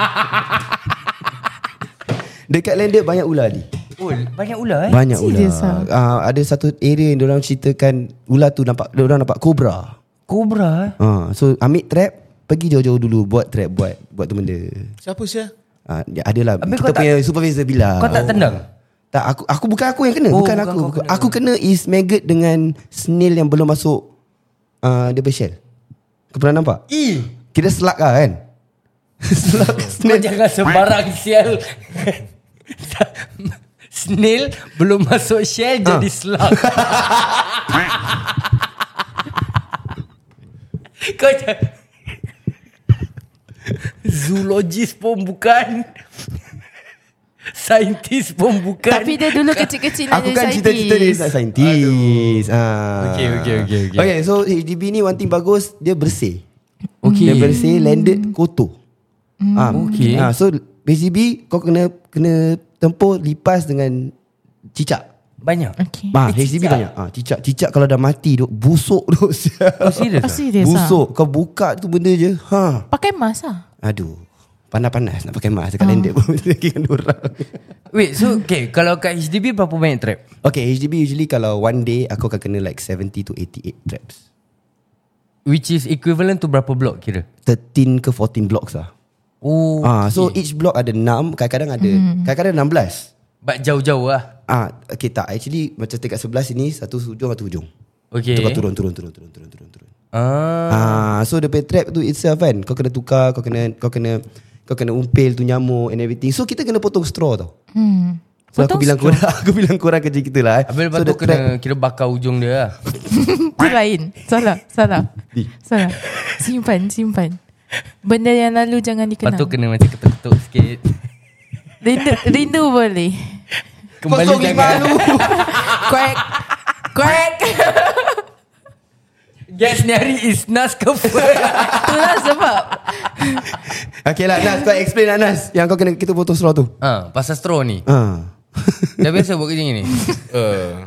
Dekat landed banyak ular ni. Oh, banyak ular eh? Banyak ular. Serious ah? Ah, ada satu area yang diorang ceritakan ular tu nampak, diorang nampak kobra. Kobra eh? Ah, so ambil trap, pergi jauh-jauh dulu buat trap, buat buat tu benda. Siapa sih? Ah, dia adalah Habis kita kau tak- punya supervisor bilang. Kau tak tendang? Tak, aku aku bukan aku yang kena, Oh, bukan, bukan aku. kau Bukan. kena. Aku kena is maggot dengan snail yang belum masuk uh, dia bershell. Kau pernah nampak? Ih, Kira selak lah kan? Selak kau snail. jangan sembarang sial. Snail belum masuk shell jadi slug. Kau jangan. Zoologist pun bukan. Saintis pun bukan. Tapi dia dulu kecil-kecil nak Aku jadi kan cita-cita dia saintis. saintis. Ah. Okay, okay, okay, okay. Okay, so H D B ni one thing bagus, dia bersih. Okay. Dia bersih, landed, kotor. Ah, Okay. Ah, so H D B kau kena kena tempuh lipas dengan cicak. Banyak. Okay. Ah, Eh, H D B cicak? banyak. Ah, cicak cicak kalau dah mati duk busuk duk. Oh, serius? Oh, ah? serius ah? Busuk. Kau buka tu benda je. Ha. Pakai mask lah. Aduh. Panas-panas nak pakai mask dekat landed pun lagi dengan orang. Wait, so okay, kalau kat H D B berapa banyak trap? Okay, H D B usually kalau one day aku akan kena like seventy to eighty-eight traps. Which is equivalent to berapa block kira? thirteen ke fourteen blocks lah. Oh, Ah, so each block ada enam, kadang-kadang ada kadang-kadang enam belas. but jauh-jauh lah. Ah, okay tak. Actually macam dekat sebelah sini satu hujung satu hujung. Okay. So kau turun turun turun turun turun turun turun. Ah, Ah, so the pay trap tu itself kan, kau kena tukar, kau kena kau kena kau kena umpil tu nyamuk and everything. So kita kena potong straw tau. Hmm. So Potong aku bilang straw? korang Aku bilang korang kerja kita lah eh. habis lepas So tu the kena trap- kira bakar ujung dia lah. Itu lain. Salah, salah. Di. Salah. Simpan, simpan. Benda yang lalu jangan Lepas dikenang. tu kena macam ketuk-ketuk sikit. Rindu, rindu boleh. Kembali Kosong lima jangan. lu. Quack. Quack. Gas ni hari is Nas ke Ferd? Itulah sebab. Okay lah Nas, kau explain lah Nas, yang kau kena kita potong straw tu. Ah, pasal straw ni. Ah. Dah biasa buat kerja ni. Uh,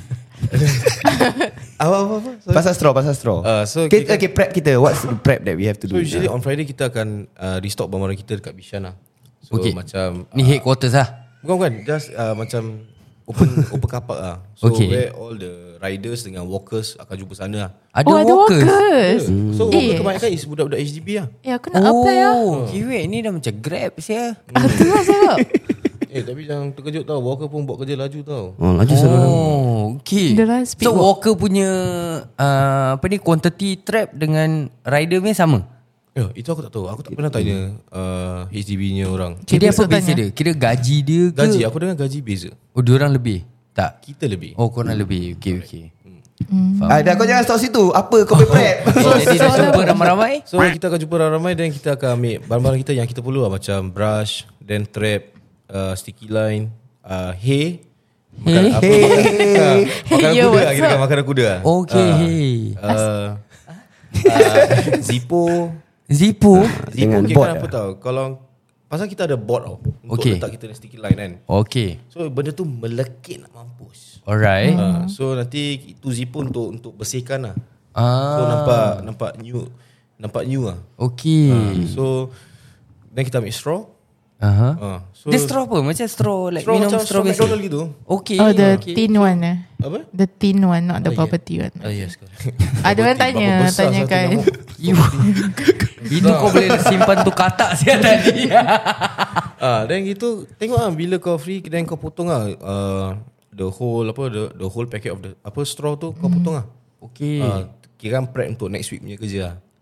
apa apa apa? Sorry. Pasal straw, pasal straw. Ah, so okay, kita- okay, prep kita. What's the prep that we have to So do? usually Ah. on Friday kita akan uh, restock barang-barang kita dekat Bishan lah. So Okay. macam Ni headquarters lah. Bukan bukan Just uh, macam Open open car park lah. So Okay. where all the riders dengan walkers akan jumpa sana lah. Ada Oh, ada walkers. walkers. Yeah. So Eh. walker kebanyakan is budak-budak H D B lah. Eh, aku nak apply lah. Oh, kiwek ni dah macam Grab sia. Ah, itulah sebab. Eh tapi jangan terkejut tau, walker pun buat kerja laju tau. Oh, laju sana. Oh, okay. Dia lah speed So walk. walker punya uh, apa ni quantity trap dengan rider punya sama. Ya, itu aku tak tahu. Aku tak pernah tanya uh, H D B-nya orang. Kira apa besok beza tanya. dia? Kira gaji dia ke? Gaji, aku dengar gaji beza. Oh, dia orang lebih. Tak. Kita lebih. Oh, korang lebih. Okay, okay. Ah, dah kau jangan stop situ. Apa kau punya prep? Oh, jadi dah jumpa ramai-ramai? So kita akan jumpa ramai-ramai dan kita akan ambil barang-barang kita yang kita perlu lah. Macam brush, then trap, uh, sticky line, uh, hay. Makan, apa, Hay. makan, makanan Yo, kuda lah. what's Kita kan up? makanan kuda lah. Okay, Ah, hey. uh, uh, Zippo. Zippo? Zippo Dengan kira board kan apa lah. tau. Kalau pasal kita ada board tau untuk Okay. letak kita punya sticky line kan. Okay. So benda tu melekit nak mampus. Alright. Uh, so nanti itu Zippo untuk untuk bersihkan lah. Ah. So nampak nampak new nampak new lah. Okay. Uh, so then kita ambil straw. Aha. Uh, so Dia straw apa? Macam straw like straw minum macam straw straw biasa. McDonald gitu. Okay. Oh, the okay. thin one eh. Apa? The thin one, not the Oh, bubble tea one. Ah yes. correct. Ada orang tanya, Berapa besar satu tanyakan. nyamuk? You. Itu kau boleh simpan tu katak siapa tadi. Ah, then gitu tengok ah bila kau free then kau potong ah uh, the whole apa the the whole packet of the apa straw tu kau potong ah. Okay. Ah, kira prep untuk next week punya kerja lah.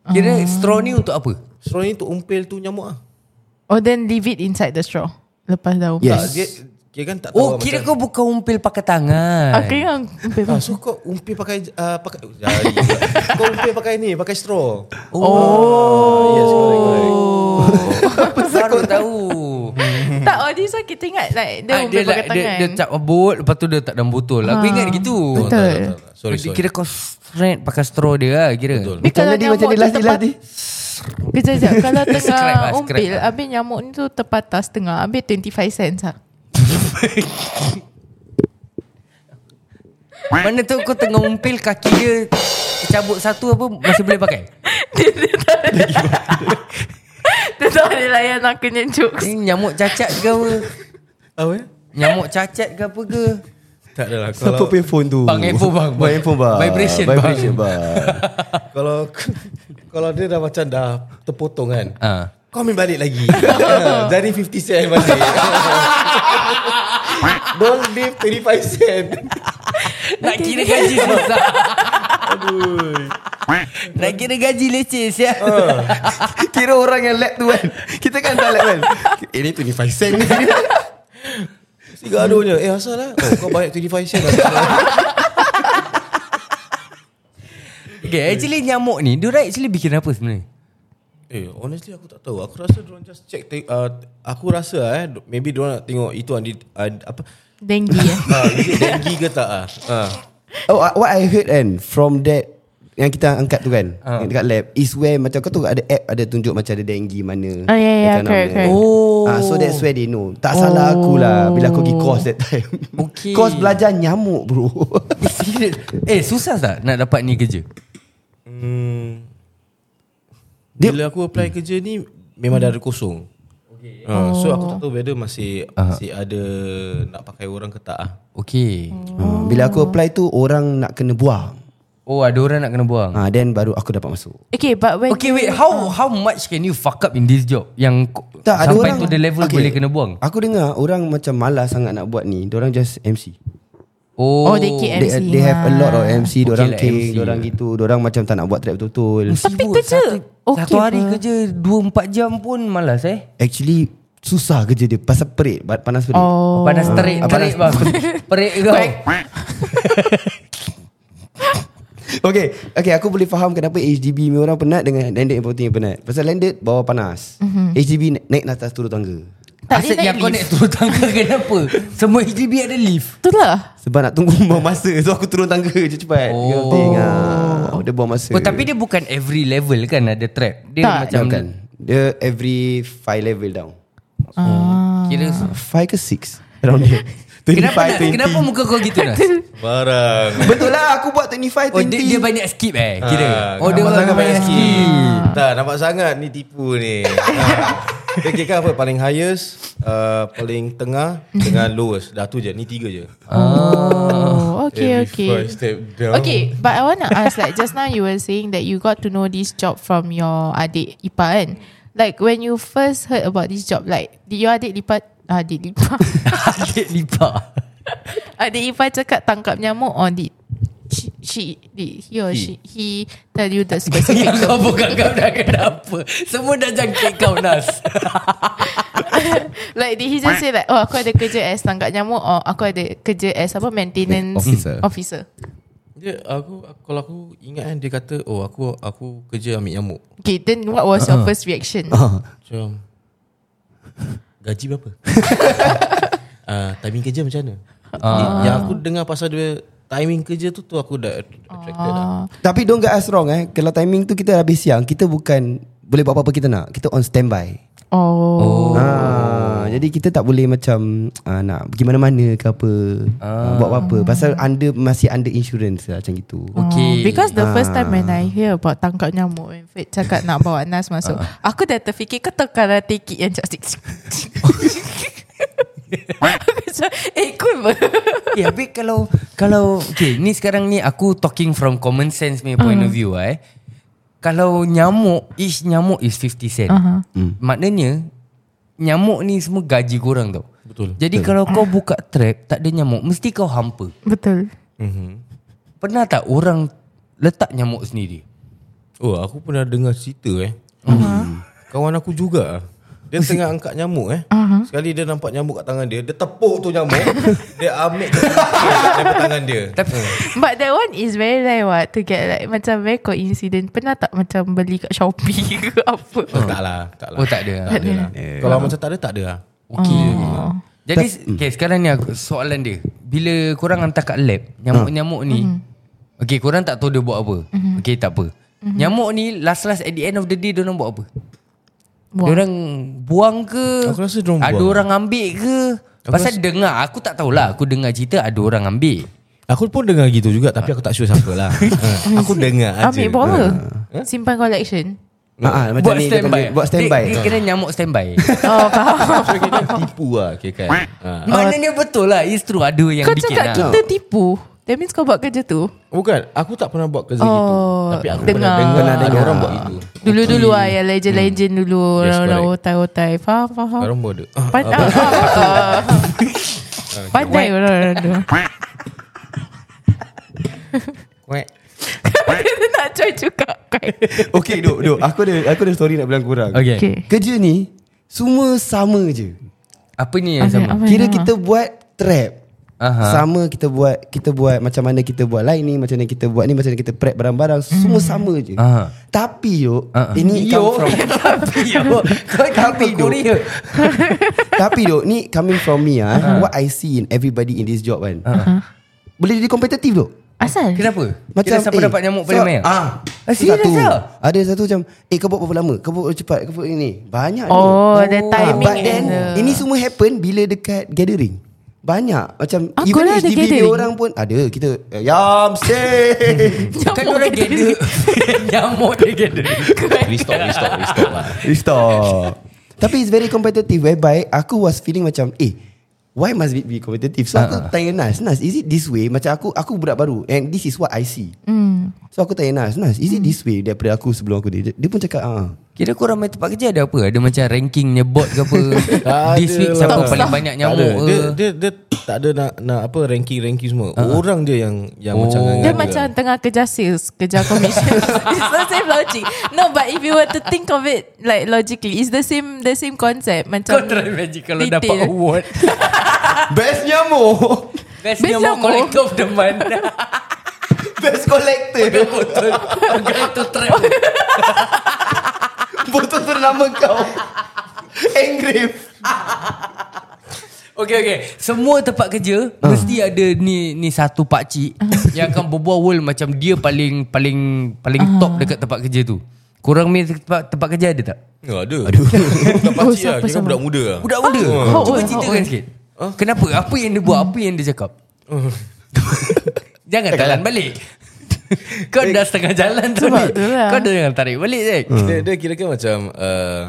Kira straw ni untuk apa? Straw ni untuk umpil tu nyamuk ah. Oh, then leave it inside the straw. Lepas dah umpil. Yes. Tak, dia, dia kan tak tahu Oh lah kira macam, kau bukan umpil pakai tangan. Ah, kira yang umpil. ah, so kau umpil pakai uh, pakai jari pula. Kau umpil pakai ni, pakai straw. Oh, Ah, yes, correct, correct. baru tahu. Tak, oh this one kita ingat like dia Ah, umpil dia, pakai like, dia, tangan. dia tak bot, lepas tu dia tak dalam botol. Aku Ah, ingat gitu. Oh, betul. tak, tak, tak, tak. Sorry, sorry. Kira kau straight pakai straw dia lah kira. Betul. Tapi Macam kalau tadi macam nyamuk dia tu last ni tepat- last ni. Kejap, kejap. Kalau Scrap tengah lah, scrap umpil, lah. habis nyamuk ni tu terpatah setengah, habis twenty-five cents lah. Mana tu kau tengah umpil, kaki dia cabut satu apa masih boleh pakai? Dia tak boleh layan aku punya jokes. Ni nyamuk cacat ke apa? Apa ya? Nyamuk cacat ke apa ke? Tak adalah. Siapa Kalau punya phone tu? Bang, handphone bang. Bang handphone bang. Vibration, bang. Vibration bang. kalau kalau dia dah macam dah terpotong kan. Ah. Kau ambil balik lagi. Jadi fifty sen balik. Don't leave twenty-five sen. Nak kira gaji susah. Nak kira gaji leceh ya. Kira orang yang lab tu kan. Kita kan tak lab kan. Ini twenty-five sen ni. Si gaduhnya. Eh asal lah. Oh, kau bayar twenty-five sen lah. Okay, actually nyamuk ni dia actually bikin apa sebenarnya? Eh honestly aku tak tahu. Aku rasa diorang just check te- uh, Aku rasa eh maybe diorang nak tengok itu uh, apa Denggi ya. uh, is it dengue ke tak ah. Uh. Oh, what I heard kan from that yang kita angkat tu kan, Ah. yang dekat lab is where macam kau tu ada app ada tunjuk macam ada dengue mana. Oh, ya, ya, that kind of correct, thing. correct. Oh. Ah, so that's where they know. Tak salah aku lah bila aku pergi course that time. Okay. Course belajar nyamuk bro. Eh, serious? Eh susah tak nak dapat ni kerja? Hmm. Dia- Bila aku apply kerja ni memang dah ada kosong. Okay. Uh, so aku tak tahu whether masih masih ada nak pakai orang ke tak ah. Okay. Ah, bila aku apply tu orang nak kena buang. Oh ada orang nak kena buang. Ah, then baru aku dapat masuk. Okay, but when Okay wait, how how much can you fuck up in this job yang ko- Tak, ada sampai orang- to the level Okay. boleh kena buang? Aku dengar orang macam malas sangat nak buat ni. Diorang just M C. Oh, Oh, they keep They, M C they have a lot of M C. Okay Diorang lah, king, M C diorang lah. gitu. Diorang macam tak nak buat track betul-betul. Tapi Sibuk kerja satu, okay satu hari apa? kerja dua empat jam pun malas eh. Actually susah kerja dia pasal perit, ba- panas perit. Oh. Panas terik, Ah, terik bang. Perik kau. Okay, okay, aku boleh faham kenapa H D B ni orang penat dengan landed importing yang penat. Pasal landed bawah panas. Mm-hmm. H D B naik, naik atas turun tangga. Tak Asyik dia yang naik kau lift. naik turun tangga kenapa? Semua H D B ada lift. Itulah. Sebab nak tunggu buang masa. So aku turun tangga je cepat. Oh. Oh. Ah, dia buang masa. Oh tapi dia bukan every level kan ada trap. Dia Tak. macam Macam kan. Dia every five level down. kira Five ke six around there. Kenapa twenty-five, nak, twenty. kenapa muka kau gitu Nas? Barang. Betul lah aku buat twenty-five, Oh twenty. dia, dia banyak skip eh kira. Ah, Oh dia nampak sangat banyak banyak skip. skip. Tak nampak sangat ni tipu ni. Ah. Dia kira apa paling highest, uh, paling tengah dengan lowest. Dah tu je, ni tiga je. Oh, okay, Every okay. five step down. Okay, but I want to ask, like just now you were saying that you got to know this job from your adik Ipa kan? Like when you first heard about this job, like did your adik lipat, adik lipat, Adik lipat. adik Ipa cakap tangkap nyamuk or did she, she did he or she he tell you the specific Yang kau bukan kau dah kenapa? Semua dah jangkit kau Nas. like did he just say like, oh aku ada kerja as tangkap nyamuk or aku ada kerja as apa maintenance Officer. officer. Dia aku kalau aku ingat kan dia kata oh aku aku kerja ambil nyamuk. Okay, then what was your first reaction? Ah. Macam gaji berapa? uh, timing kerja macam mana? Ah. Yang aku dengar pasal dia timing kerja tu tu aku dah attracted dah. Tapi don't get us wrong eh. Kalau timing tu kita habis siang, kita bukan boleh buat apa-apa kita nak. Kita on standby. Oh. Ah, jadi kita tak boleh macam ah, nak pergi mana-mana ke apa, ah. buat apa-apa. Pasal under masih under insurance lah macam gitu. Okay. Oh, because the first time Ah. when I hear about tangkap nyamuk, when Fred cakap nak bawa Nas masuk, aku dah terfikir kau tahu karate kick yang just aku macam, eh cool ber. Eh, tapi kalau kalau okay, ni sekarang ni aku talking from common sense punya point of view eh. Kalau nyamuk, each nyamuk is fifty cent. Uh-huh. Hmm. Maknanya nyamuk ni semua gaji korang tau. Betul. Jadi kalau kau buka trap tak ada nyamuk, mesti kau hampa. Betul. Mm-hmm. Pernah tak orang letak nyamuk sendiri? Oh, aku pernah dengar cerita eh. Uh-huh. Kawan aku juga. Dia tengah angkat nyamuk eh. Uh-huh. Sekali dia nampak nyamuk kat tangan dia, dia tepuk tu nyamuk, dia ambil ke daripada tangan dia. But that one is very rare what to get like macam very coincident. Pernah tak macam beli kat Shopee ke apa? Oh, tak lah, tak lah. Oh, tak ada. Tak ada lah. Yeah. Kalau macam tak ada, tak ada lah. Okey. Oh. Jadi okay, sekarang ni aku, soalan dia. Bila korang hantar kat lab, nyamuk-nyamuk ni, mm-hmm. okay, korang tak tahu dia buat apa. Mm-hmm. Okay, tak apa. Mm-hmm. Nyamuk ni last-last at the end of the day diorang buat apa? Buang. Diorang buang ke? Aku rasa diorang ada buang. orang ambil ke? Aku Pasal rasa... dengar, aku tak tahulah. Aku dengar cerita ada orang ambil. Aku pun dengar gitu juga, tapi aku tak sure siapa lah. ha, aku dengar aja. Ambil buat apa? Ha? Simpan collection. Ha, macam Buat ni standby. Buat standby. Dia, dia kira nyamuk standby. Oh, faham. So, kita tipu lah okay, kan. ha. Maknanya betul lah. It's true. Ada yang Kau bikin cakap lah. kita tipu. That means kau buat kerja tu. Bukan, aku tak pernah buat kerja Oh, gitu. Tapi aku dengar. pernah dengar Pernah ada dengar. orang buat itu. Dulu-dulu lah yang legend-legend dulu. Yes, Orang-orang correct. otai-otai. Faham, faham. Orang buat ada. Pandai. Pandai orang-orang tu. Kuek. Kita nak try juga. Okay duk, duk. Aku ada aku ada story nak bilang korang. Okay. Okay. Kerja ni semua sama je. Apa ni yang Okay, sama? apa Kira yang kita buat trap. Aha. Sama kita buat kita buat macam mana kita buat line ni, macam mana kita buat ni, macam mana kita prep barang-barang, semua sama je. Aha. Tapi yo, Aha. ini come from Tapi yo, kau Tapi kau duk. Korea. Tapi duk, ni coming from me ah, what I see in everybody in this job kan. Boleh jadi kompetitif duk. Asal? Kenapa? Macam Kira siapa eh, dapat nyamuk paling so- banyak? Ah, Ah, serious satu. lah? Ada satu macam, eh kau buat berapa lama? Kau buat cepat, kau buat ini. Banyak Oh, ni. the timing But then and the- ini semua happen bila dekat gathering. Banyak macam Ah, even korang H ada D B gathering? orang pun ada. Kita eh, yam say. Kan orang gather. Nyamuk dia gather. Restore, restore, restore lah. Stop. Tapi it's very competitive whereby aku was feeling macam eh why must it be competitive? So aku tanya Nas, Nas, is it this way? Macam aku aku budak baru and this is what I see. Hmm. So aku tanya Nas, Nas, is it this way daripada aku sebelum aku dia? Dia pun cakap ah. Kira korang main tempat kerja ada apa? Ada macam rankingnya bot ke apa? Tak This ada week lah. siapa Tak paling ada. banyak Tak nyamuk ada. ke? Dia, dia, dia tak ada nak, nak apa ranking-ranking semua. Orang dia yang yang Oh. macam Dia nganga-nganga. macam tengah kejar sales, kejar commission. It's the same logic. No, but if you were to think of it like logically, it's the same the same concept. Macam Kau try imagine kalau retail. dapat award. Best nyamuk. Best Best nyamuk nyamuk. collector of the month. Best collector. Betul. Pegang tu trap. Botol tu nama kau. Engrave. Okay okay. Semua tempat kerja uh. mesti ada ni ni satu pakcik yang akan berbual world macam dia paling paling paling uh. top dekat tempat kerja tu. Korang punya tempat, tempat kerja ada tak? Ya, ada. Aduh. Tak Oh, pakcik lah. siapa Kira sama? budak muda lah. Budak muda. How Cuba old, ceritakan how old? sikit. Kenapa? Apa yang dia buat? Apa yang dia cakap? Jangan jalan balik. Kau dah setengah jalan tu Sebab ni. tu lah. Kau dah jangan tarik balik Zack. Dia, dia kira-kira macam uh,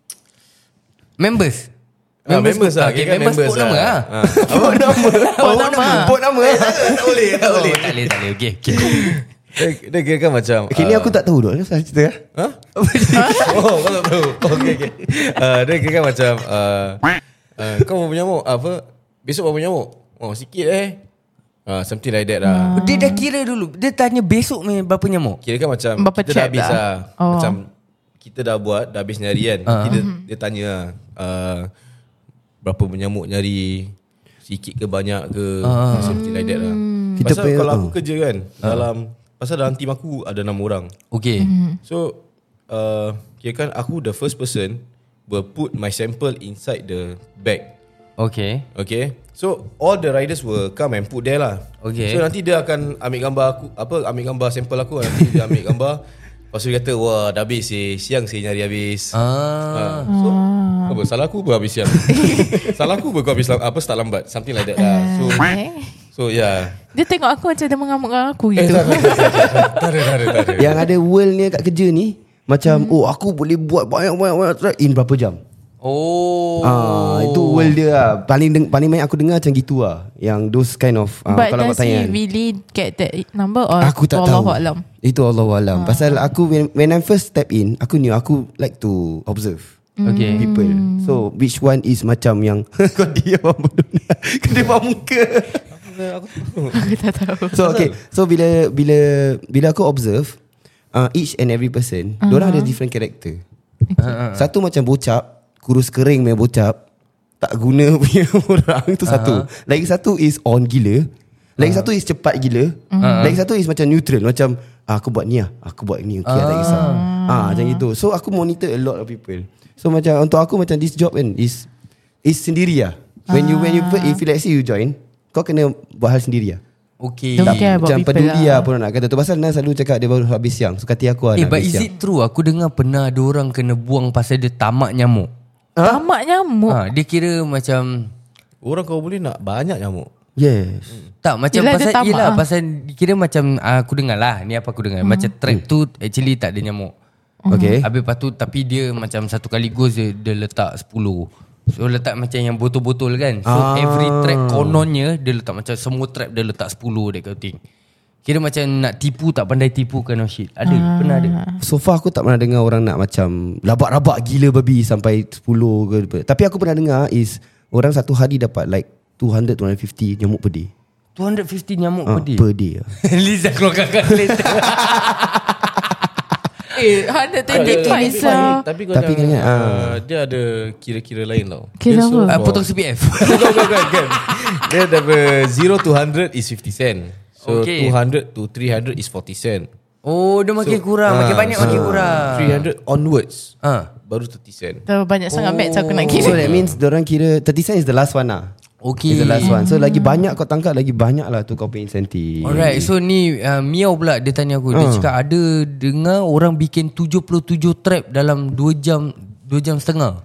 Members. Ah, members lah. Okay, Kira members, members put nama lah. Ah. Put nama. Put nama. Put nama. Tak boleh, tak Oh, boleh. tak boleh, tak boleh. Okay, okay. Dia, dia kira-kira macam Okay, ni uh, aku tak tahu dok. Saya cerita ah. Ha? Oh, kau tak tahu. Okay, okay. Uh, dia kira macam uh, uh, kau berapa nyamuk? Apa? Besok berapa nyamuk? Oh, sikit eh. Uh, something like that lah. Dia dah kira dulu. Dia tanya besok ni berapa nyamuk. Kira kan macam Berapa kita dah trap habis dah? lah. Oh. Macam kita dah buat, dah habis nyari kan. Uh. Kita, dia tanya lah, uh, berapa nyamuk nyari, sikit ke banyak ke, uh. something like that lah. Kita Pasal punya- kalau aku uh. kerja kan, dalam, pasal dalam team aku ada enam orang. Okay. So, uh, kira kan aku the first person will put my sample inside the bag. Okay. Okay. So all the riders will come and put there lah. Okay. So nanti dia akan ambil gambar aku, apa ambil gambar sampel aku, nanti dia ambil gambar. Lepas tu dia kata, wah dah habis eh, siang saya nyari habis. Ah. Ha, so apa salah aku pun habis siang. Salah aku pun kau habis lam- apa start lambat, something like that lah. So Eh. so yeah. Dia tengok aku macam dia mengamuk dengan aku Eh, gitu. tak ada, tak ada, tak ada, tak ada, tak ada. Yang ada world ni kat kerja ni macam oh aku boleh buat banyak-banyak track in berapa jam. Oh. Ah, itu world dia lah. Paling deng- paling banyak aku dengar macam gitu lah. Yang those kind of ah, But kalau kau does he tanya. really get that number or Aku tak Wallahu tahu. alam? Itu Allahualam. Pasal aku when, when I first step in, aku knew aku like to observe Okay. people. So which one is macam yang kau diam bodoh. Kedua muka. Aku tak tahu. So okay. So bila bila bila aku observe, uh, each and every person, uh-huh. Diorang ada different character. Okay. Satu macam bocap, kurus kering punya bocap, tak guna punya orang. Itu uh-huh. satu. Lagi satu is on gila. Lagi uh-huh. satu is cepat gila. uh-huh. Lagi satu is macam neutral. Macam ah, aku buat ni lah, aku buat ni, okay, uh-huh. tak kisah. Ah, macam gitu. So aku monitor a lot of people. So macam untuk aku macam this job kan is is sendiri lah. When you when you if let's say you join, kau kena buat hal sendiri lah. Okay. Don't care about Macam people peduli lah. lah pun nak kata tu. Pasal Nas selalu cakap dia baru habis siang. So kata aku lah Eh nak but habis is siang. it true? Aku dengar pernah ada orang kena buang pasal dia tamak nyamuk. Tamak nyamuk. ha, Dia kira macam Orang kau boleh nak banyak nyamuk. Yes. tak macam Yelah, dia pasal tamak yelah lah. pasal kira macam uh, aku dengar lah. Ni apa aku dengar. Macam trap tu actually tak ada nyamuk. Okay. Habis lepas tu tapi dia macam satu kali goes dia, dia letak sepuluh. So letak macam yang botol-botol kan. So Ah. every trap kononnya dia letak macam semua trap dia letak sepuluh that kind of thing. Kira macam nak tipu tak pandai tipu kind of shit. Ada, Ah. pernah ada. So far aku tak pernah dengar orang nak macam labak-rabak gila babi sampai sepuluh ke. Tapi aku pernah dengar is orang satu hari dapat like two hundred to two hundred fifty nyamuk per day. two hundred fifty nyamuk Ah, per day. per day. Liza keluarkan kalkulator. Eh, one hundred twenty-five Tapi, sah. tapi kau Tapi jangan, kena, ah. uh, dia ada kira-kira lain tau. Kira Dia so apa? uh, for- potong C P F. Bukan, bukan, bukan. Dia dari zero to one hundred is fifty cent. So Okay. two hundred to three hundred is forty cent. Oh, dia makin So, kurang, makin ah, banyak makin kurang. three hundred onwards Ah. baru thirty cent. Terlalu banyak sangat maths aku nak So kira. that means diorang kira thirty cent is the last one lah. Okay. Is the last one. So lagi banyak kau tangkap, lagi banyak lah tu kau pay incentive. Alright, so ni uh, Miao pula dia tanya aku. Dia Ah. cakap ada dengar orang bikin tujuh puluh tujuh trap dalam dua jam dua jam setengah.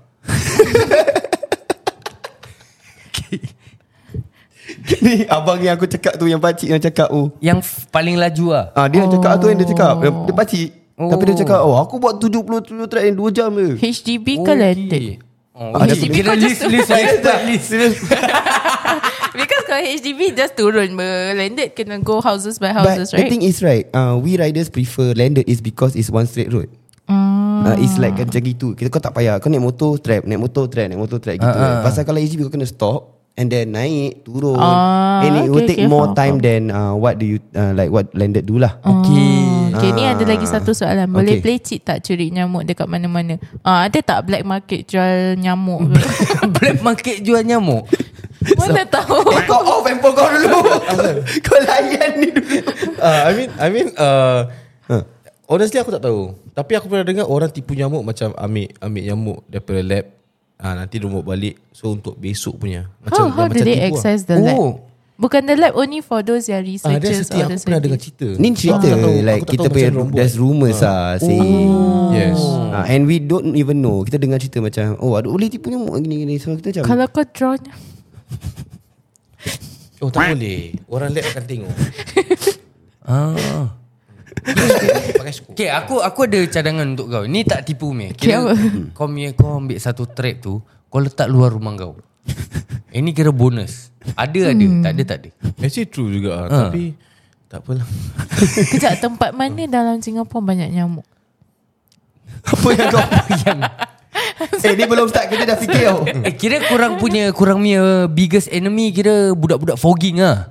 Ni abang yang aku cakap tu, yang pakcik yang cakap tu. Yang f- paling laju lah. Ah, dia yang cakap tu yang dia cakap. Dia, dia pakcik. Oh. Tapi dia cakap, oh aku buat tujuh puluh tujuh track yang dua jam je. H D B ke landed? Oh, Ah, okay. dia- Kira list list list list. Because kalau H D B just turun ber landed kena go houses by But houses, the right? thing is right, uh, we riders prefer landed is because it's one straight road. Hmm. Uh, it's like macam gitu. Kita kau tak payah. Kau naik motor trap, naik motor trap, naik motor trap gitu. Ah, ah. Pasal kalau H D B kau kena stop and then naik, turun. Ah, and it will okay, take okay, more faham, time faham. than uh, what do you uh, like what landed do lah. Okay. Okay, ni ada lagi Ah. satu soalan. Boleh Okay. play cheat tak curi nyamuk dekat mana-mana? Ah, ada tak black market jual nyamuk? Black market jual nyamuk. Mana tahu? Eh, kau off handphone kau dulu. Kau layan ni dulu. uh, I mean I mean uh, honestly aku tak tahu. Tapi aku pernah dengar orang tipu nyamuk macam ambil ambil nyamuk daripada lab. Ah, nanti dia bawa balik. So untuk besok punya. How, Macam how do macam they tipu access lah. the lab? Oh. Bukan the lab only for those yang Ah, dia researchers setiap or the aku pernah dengar scientists. cerita. Ni cerita Aku tak tahu- like aku tak kita tahu punya macam rombong. there's rumours ah saying. Yes. Ah, and we don't even know. Kita dengar cerita macam oh ada boleh tipu nyamuk gini-gini. So kita macam Kalau kau draw nyamuk, Oh tak boleh. Orang lab akan tengok. Ah. Pakai skop. Okay, aku aku ada cadangan untuk kau. Ni tak tipu meh. Okay, Kira apa? kau punya kau ambil satu trap tu, kau letak luar rumah kau. Ini kira bonus. Ada ada, tak ada tak ada. Actually true juga Ah. Tapi tak apalah. kejap tempat mana dalam Singapura banyak nyamuk? apa yang kau Yang eh ni belum start kita dah fikir tau. eh, kira kurang punya kurang punya biggest enemy kira budak-budak fogging ah.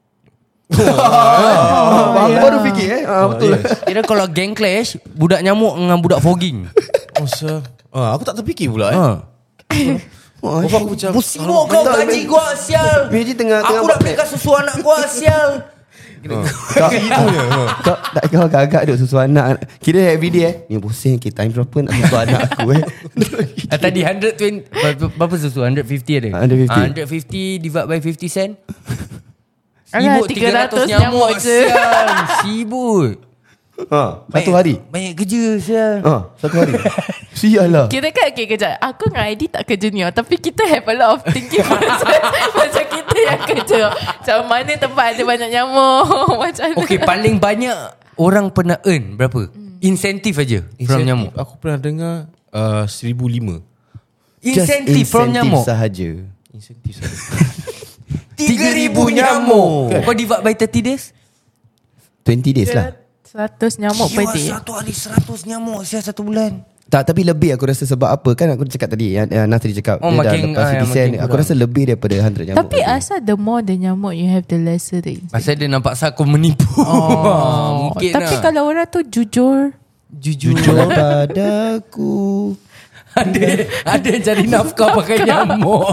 Ah, aku baru fikir eh. Ah, betul. Kira kalau gang clash, budak nyamuk dengan budak fogging. Oh sir. Ah, aku tak terfikir pula eh. Ha. Oh, Aku macam Musibuk kau gaji gua sial. Imagine tengah tengah Aku nak belikan susu anak gua sial. kau kau tak kau agak-agak duk susu anak. Kira everyday eh. Ni pusing kita time berapa nak susu anak aku eh. Ah, tadi one hundred twenty berapa, berapa susu? one hundred fifty ada? one hundred fifty. Ah, one hundred fifty divide by fifty cent. Alah, Sibut tiga ratus tiga ratus nyamuk nyamuk je. sial. Sibut. Ha, satu hari. Banyak kerja sial. Ha, satu hari. Sial lah. Kira kan okay, kejap. Aku dengan I D tak kerja ni oh, tapi kita have a lot of thinking macam, macam kita yang kerja. Macam mana tempat ada banyak nyamuk. Macam mana. Okay, paling banyak orang pernah earn berapa? Insentif aja from nyamuk. Aku pernah dengar uh, seribu lima. Insentif from nyamuk. sahaja. Insentif saja. tiga ribu nyamuk. Kau divide by thirty days? twenty days lah. seratus nyamuk per day. Satu hari seratus nyamuk sial satu bulan. Tak, tapi lebih aku rasa sebab apa kan aku cakap tadi yang, yang Nas tadi cakap Oh, dia dah makin- lepas ah, yang desain makin aku kurang. rasa lebih daripada one hundred nyamuk. Tapi asal the more the nyamuk you have, the lesser the insect. Pasal dia nampak saya aku menipu. Oh, mungkin Tapi lah. kalau orang tu jujur, Jujur, Jujur padaku. ada ada yang cari nafkah pakai nyamuk.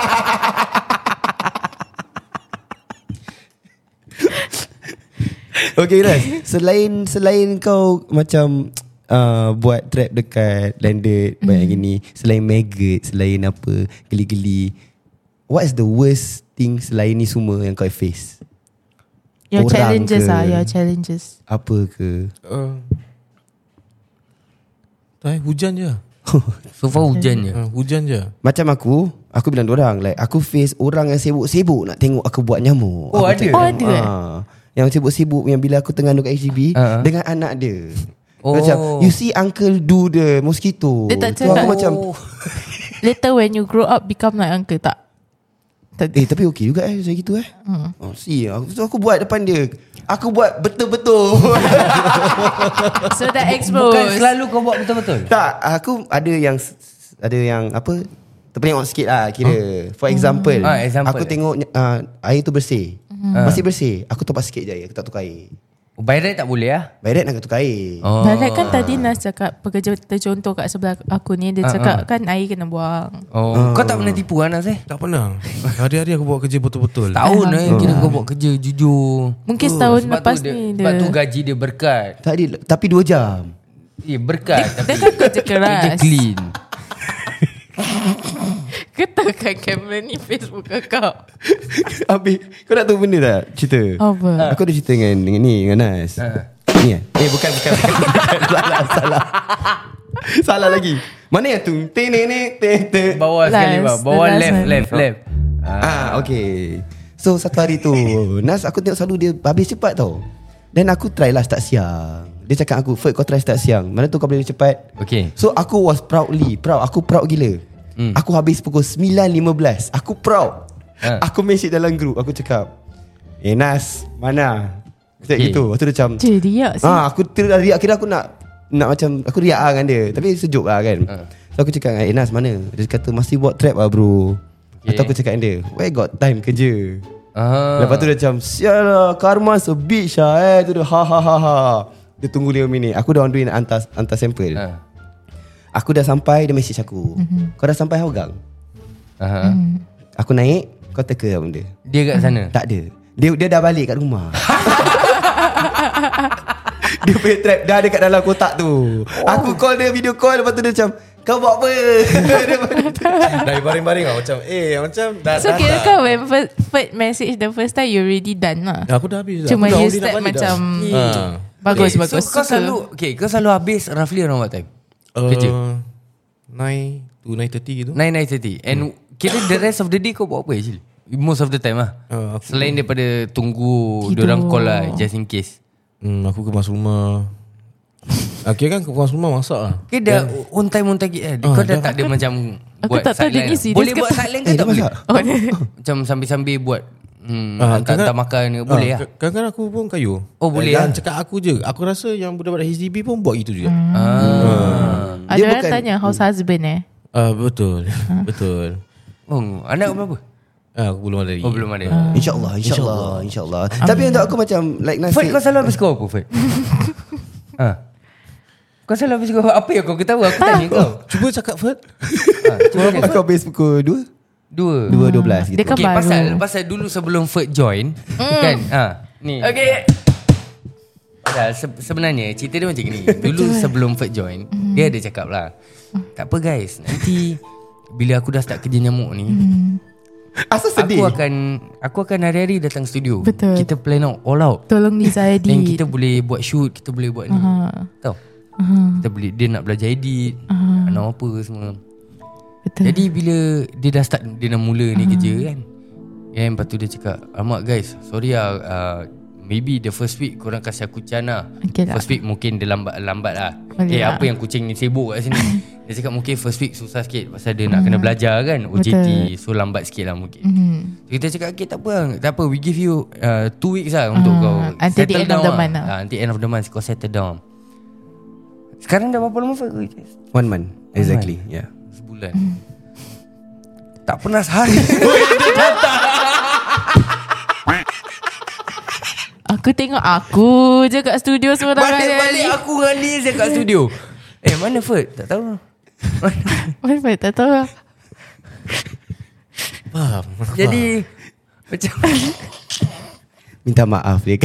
Okay Ras, selain selain kau macam uh, buat trap dekat landed banyak gini, selain maggot, selain apa geli-geli, what is the worst thing selain ni semua yang kau face? your Orang challenges ke? ah, your challenges. Apa ke? uh, Tak eh, hujan je. So far hujan je. Uh, hujan je. Macam aku, aku bilang dorang like aku face orang yang sibuk-sibuk nak tengok aku buat nyamuk. Oh, Aku ada? cakap, Oh, ada? ah, yang sibuk-sibuk yang bila aku tengah duduk kat H D B Ah. dengan anak dia. Oh. Macam you see uncle do the mosquito. Dia tak Tu cakap. aku macam Later when you grow up become like uncle tak? Tak. eh tapi okey juga eh saya gitu eh. Hmm. Oh, see aku, so aku buat depan dia. Aku buat betul-betul. So that Bukan expose. selalu kau buat betul-betul. Tak, aku ada yang ada yang apa terpenyok sikit lah kira. For example, Ah, example. aku tengok uh, air tu bersih. Masih bersih. Aku topak sikit je air, aku tak tukar air. Oh, by right tak boleh ah. By right nak tukar air. Oh. Balik kan tadi Nas cakap pekerja tercontoh kat sebelah aku ni, dia cakap kan air kena buang. Oh, kau tak pernah tipu Anas eh? Tak pernah. Hari-hari aku buat kerja betul-betul. Tahun eh kira kau buat kerja jujur. Mungkin setahun Sebab lepas tu dia, ni Sebab dia tu gaji dia berkat. Tak ada, tapi dua jam. Eh berkat Dia tapi kan kerja keras. kerja clean. Ketakkan kamera ni Facebook kau. Habis, kau nak tahu benda tak? Cerita. Apa? Aku ada cerita dengan, dengan ni, dengan Nas. Ha. Ni eh? Eh bukan, bukan, bukan, bukan. Salah, salah. Salah lagi. Mana yang tu? Te ne ne te te. Bawah sekali Last, bawah. the Bawah last left one. left left. Ah, okay. So satu hari tu Nas aku tengok selalu dia habis cepat tau. Dan aku try lah start siang. Dia cakap aku, Ferd kau try start siang. Mana tu kau boleh cepat. Okay. So aku was proudly Proud, aku proud gila. Hmm. Aku habis pukul nine lima belas. Aku proud. Ha. Aku message dalam group. Aku cakap, eh Nas, mana? Aku cakap Okay. gitu. Lepas tu dia macam Je riak sih. Ah, aku kira riak, kira aku nak nak macam aku riak lah dengan dia. Tapi sejuk lah kan. Ha. So aku cakap, eh Nas mana? Dia kata masih buat trap lah bro. Okay. Atau aku cakap dengan dia, where got time kerja? Ah. Lepas tu dia macam, sial lah, karma so bitch lah eh. Tu dia ha ha ha ha. Dia tunggu lima minit. Aku dah on the way nak hantar, hantar sampel. Ha. Aku dah sampai, dia message aku. Kau dah sampai Hougang? Aha. Aku naik, kau teka lah benda. Dia kat sana. Tak ada. Dia dia dah balik kat rumah. Dia punya trap dah dekat dalam kotak tu. Aku call dia, video call. Lepas tu dia macam, kau buat apa? Dari baring-baring lah macam eh macam dah So dah, kira dah. kau when first, first message the first time you already done lah. Aku dah habis dah. Cuma Aku dah you already nak step balik macam dah. Ha. Bagus Okay, bagus. So kau Suka. selalu okay, kau selalu habis roughly around what time? Uh, Kerja. nine to nine thirty gitu. nine nine thirty. And kira the rest of the day kau buat apa actually? Most of the time lah. Uh, aku, Selain daripada tunggu Tidur. diorang call lah just in case. hmm, aku kemas rumah. Akhirnya kan kemas rumah masak lah. Okay dah on time on target kan. Ah, Kau dah dah. tak ada macam Aku buat tak tahu dia sideline ni lah. serious Boleh ke buat tak? sideline ke Eh, tak dia boleh? masak. Oh, dia. Macam sambil-sambil buat hmm, Ah, hantar, hantar kadang- makan ke boleh lah. Ah, Kadang-kadang aku pun kayu. Oh, boleh Jangan lah. cakap aku je. Aku rasa yang budak-budak H D B pun buat gitu juga. Ah. Ada Dia orang bukan- tanya house husband eh. Ah, betul. Betul. Oh, anak berapa? Ah, aku belum ada lagi. Oh belum ada. InsyaAllah, insyaAllah, insyaAllah. Tapi untuk aku macam like Nas Ferd said, kau selalu habis kau apa Ferd? ha. Kau selalu habis kau apa yang kau ketahui? Aku tanya kau. Cuba cakap Ferd. ha, cuba cakap. aku habis pukul dua Dua. dua dua belas gitu. Dia kan Okay, baru. pasal pasal dulu sebelum Ferd join kan. Ha, ni. Okay. Dah, se- sebenarnya cerita dia macam ni. Dulu sebelum Ferd join, dia ada cakap lah. Tak apa guys, nanti bila aku dah start kerja nyamuk ni, Asal sedih. aku akan aku akan hari-hari datang studio. Betul. Kita plan out all out. Tolong Liza edit. Dan kita boleh buat shoot, kita boleh buat ni. Ha. Tahu? Kita boleh dia nak belajar edit, Ah. nak apa semua. Betul. Jadi bila dia dah start, dia dah mula ni kerja kan. Kan lepas tu dia cakap, "Alamak guys, sorry lah uh, maybe the first week korang kasih aku can lah. Okay lah. First week mungkin dia lambat lambat lah. Boleh Eh lah. apa yang kucing ni sibuk kat sini." Dia cakap mungkin first week susah sikit pasal dia nak kena belajar kan O J T. So lambat sikit lah mungkin. Mhm. So, kita cakap okay tak apa lah. Tak apa, we give you uh, two weeks lah untuk Ah, kau until the settle end of down the month lah. Ah, until end of the month kau settle down. Sekarang dah berapa lama Fat? One month. Exactly. Yeah. Sebulan. Tak pernah sehari. Aku tengok aku je kat studio seorang Balik-balik aku dengan ni saya kat studio. Eh mana Fat? Tak tahu. Mana tak tahu lah. Faham. Jadi macam Minta maaf dia.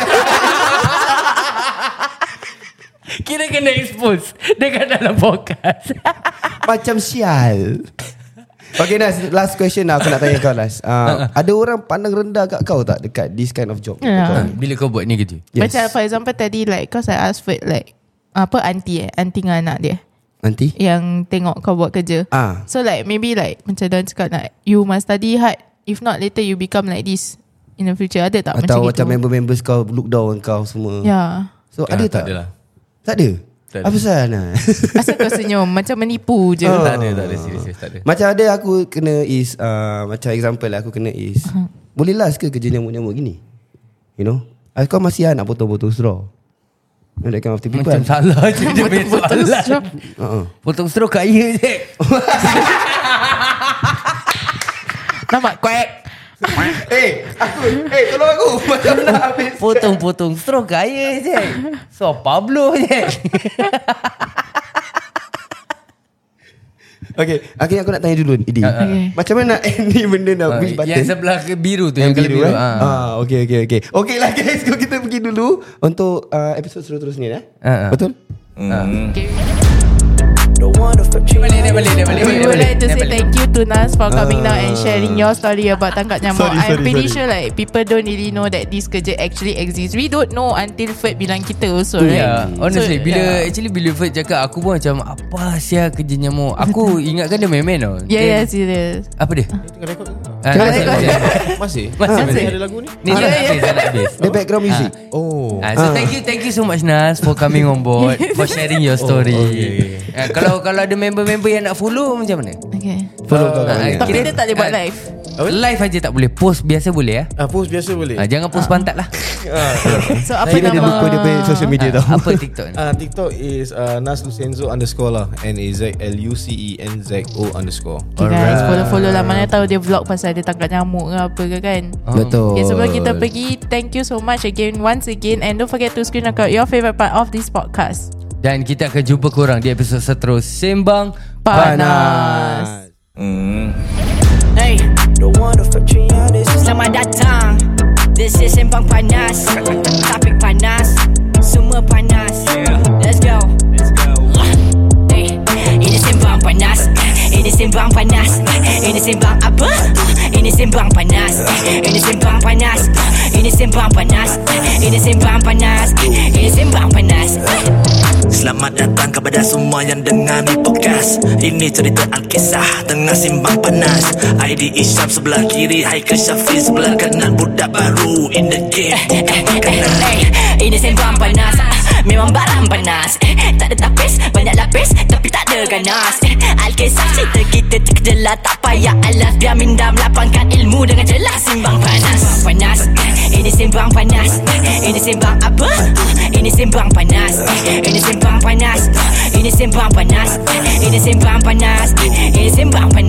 kira kena expose dekat dalam podcast. Macam sial. Okay Nas, last question lah aku nak tanya kau Nas. uh, Ada orang pandang rendah kat kau tak dekat this kind of job? Ya. Bila kau buat ni kerja? Yes. Macam for example tadi like cause I asked for like apa auntie eh auntie dengan anak dia Nanti? yang tengok kau buat kerja. Ah. So like maybe like macam dia cakap like you must study hard, if not later you become like this in the future. Ada tak Atau macam macam gitu? member-members kau look down kau semua? Ya. So Ah, ada tak tak? ada lah. Tak ada? Tak ada. Apa pasal Nas? Asal kau senyum macam menipu je. Oh. Tak ada, tak ada. Serius, serius, tak ada. Macam ada aku kena is uh, macam example lah aku kena is Uh-huh. boleh last ke kerja nyamuk-nyamuk gini? You know? Ah, kau masih nak potong-potong straw? You know, that kind of people. Macam salah je dia punya soalan. Uh-uh. Potong straw kaya je. Nampak quack. Eh, aku, eh tolong aku. Macam nak habis. Potong-potong straw kaya je. So Pablo je. Okay, akhirnya aku nak tanya dulu Idi. Okay. Macam mana nak end ni benda nak push button? Yang sebelah ke biru tu. Yang Yang biru, biru, eh? ah. Ah, okay, okay, okay. Okay lah guys, kita pergi dulu untuk uh, episod seterusnya. Eh? Ah, ah. Betul? Okay. Dia balik, dia balik, dia balik. We would like to Dia say balik. thank you to Nas for coming down and sharing your story about tangkap nyamuk. Sorry, I'm sorry, pretty sorry. sure like people don't really know that this kerja actually exists. We don't know until Ferd bilang kita also, right? Yeah, honestly So, bila yeah. actually bila Ferd cakap aku pun macam apa sia kerja nyamuk. Aku ingatkan dia main-main tau. Yeah, Dia- yeah, serious. Apa dia? Tengah rekod. Ah, Tengah masih, rekod. masih. Masih? Masih, Masih masih. ada lagu ni? Ni dah habis, dah nak habis. The background music. Oh. Ah, so thank you thank you so much Nas for coming on board, for sharing your story. Oh, okay, okay. Ah, kalau kalau ada member-member yang nak follow macam mana? Okay. Follow kau kat Ah, mana? Tapi kira- dia tak boleh buat ah, live. Live aja tak boleh. Post biasa boleh ya. Ah, post biasa boleh. Ah, jangan post pantat lah. So apa Kira dia nama? lupa dia punya social media tau. Apa TikTok ni? Ah, TikTok is uh, Nas Lucenzo underscore lah. N A Z L U C E N Z O underscore. Okay guys, follow-follow lah. Mana tahu dia vlog pasal dia tangkap nyamuk ke apa ke kan. Betul. Okay, sebelum kita pergi, thank you so much again once again, and don't forget to screen record your favourite part of this podcast. Dan kita akan jumpa korang di episod seterus Sembang Panas. Hey, selamat datang. This is Sembang Panas. Topik panas, semua panas. Let's go. Hey, ini Sembang Panas. Ini Sembang Panas. Ini Sembang apa? Ini Sembang Panas. Ini Sembang Panas. Ini Sembang Panas. Ini Sembang Panas. Ini Sembang Panas. Selamat datang kepada semua yang dengar ni podcast. Ini cerita Alkisah tengah simbang panas. I D Isyam sebelah kiri, Haikal Syafiq sebelah kanan. Budak baru in the game. Hey, ini Sembang Panas. Memang barang panas. Tak ada tapis, banyak lapis, tapi tak ada ganas. Alkisah cerita kita terkejelah, tak payah alas. Biar minda melapangkan ilmu dengan jelas. Sembang Panas. Panas. Ini Sembang Panas. Ini Sembang apa? Ini Sembang Panas. Ini Sembang Panas. Ini Sembang Panas. Ini Sembang Panas. Ini Sembang Panas.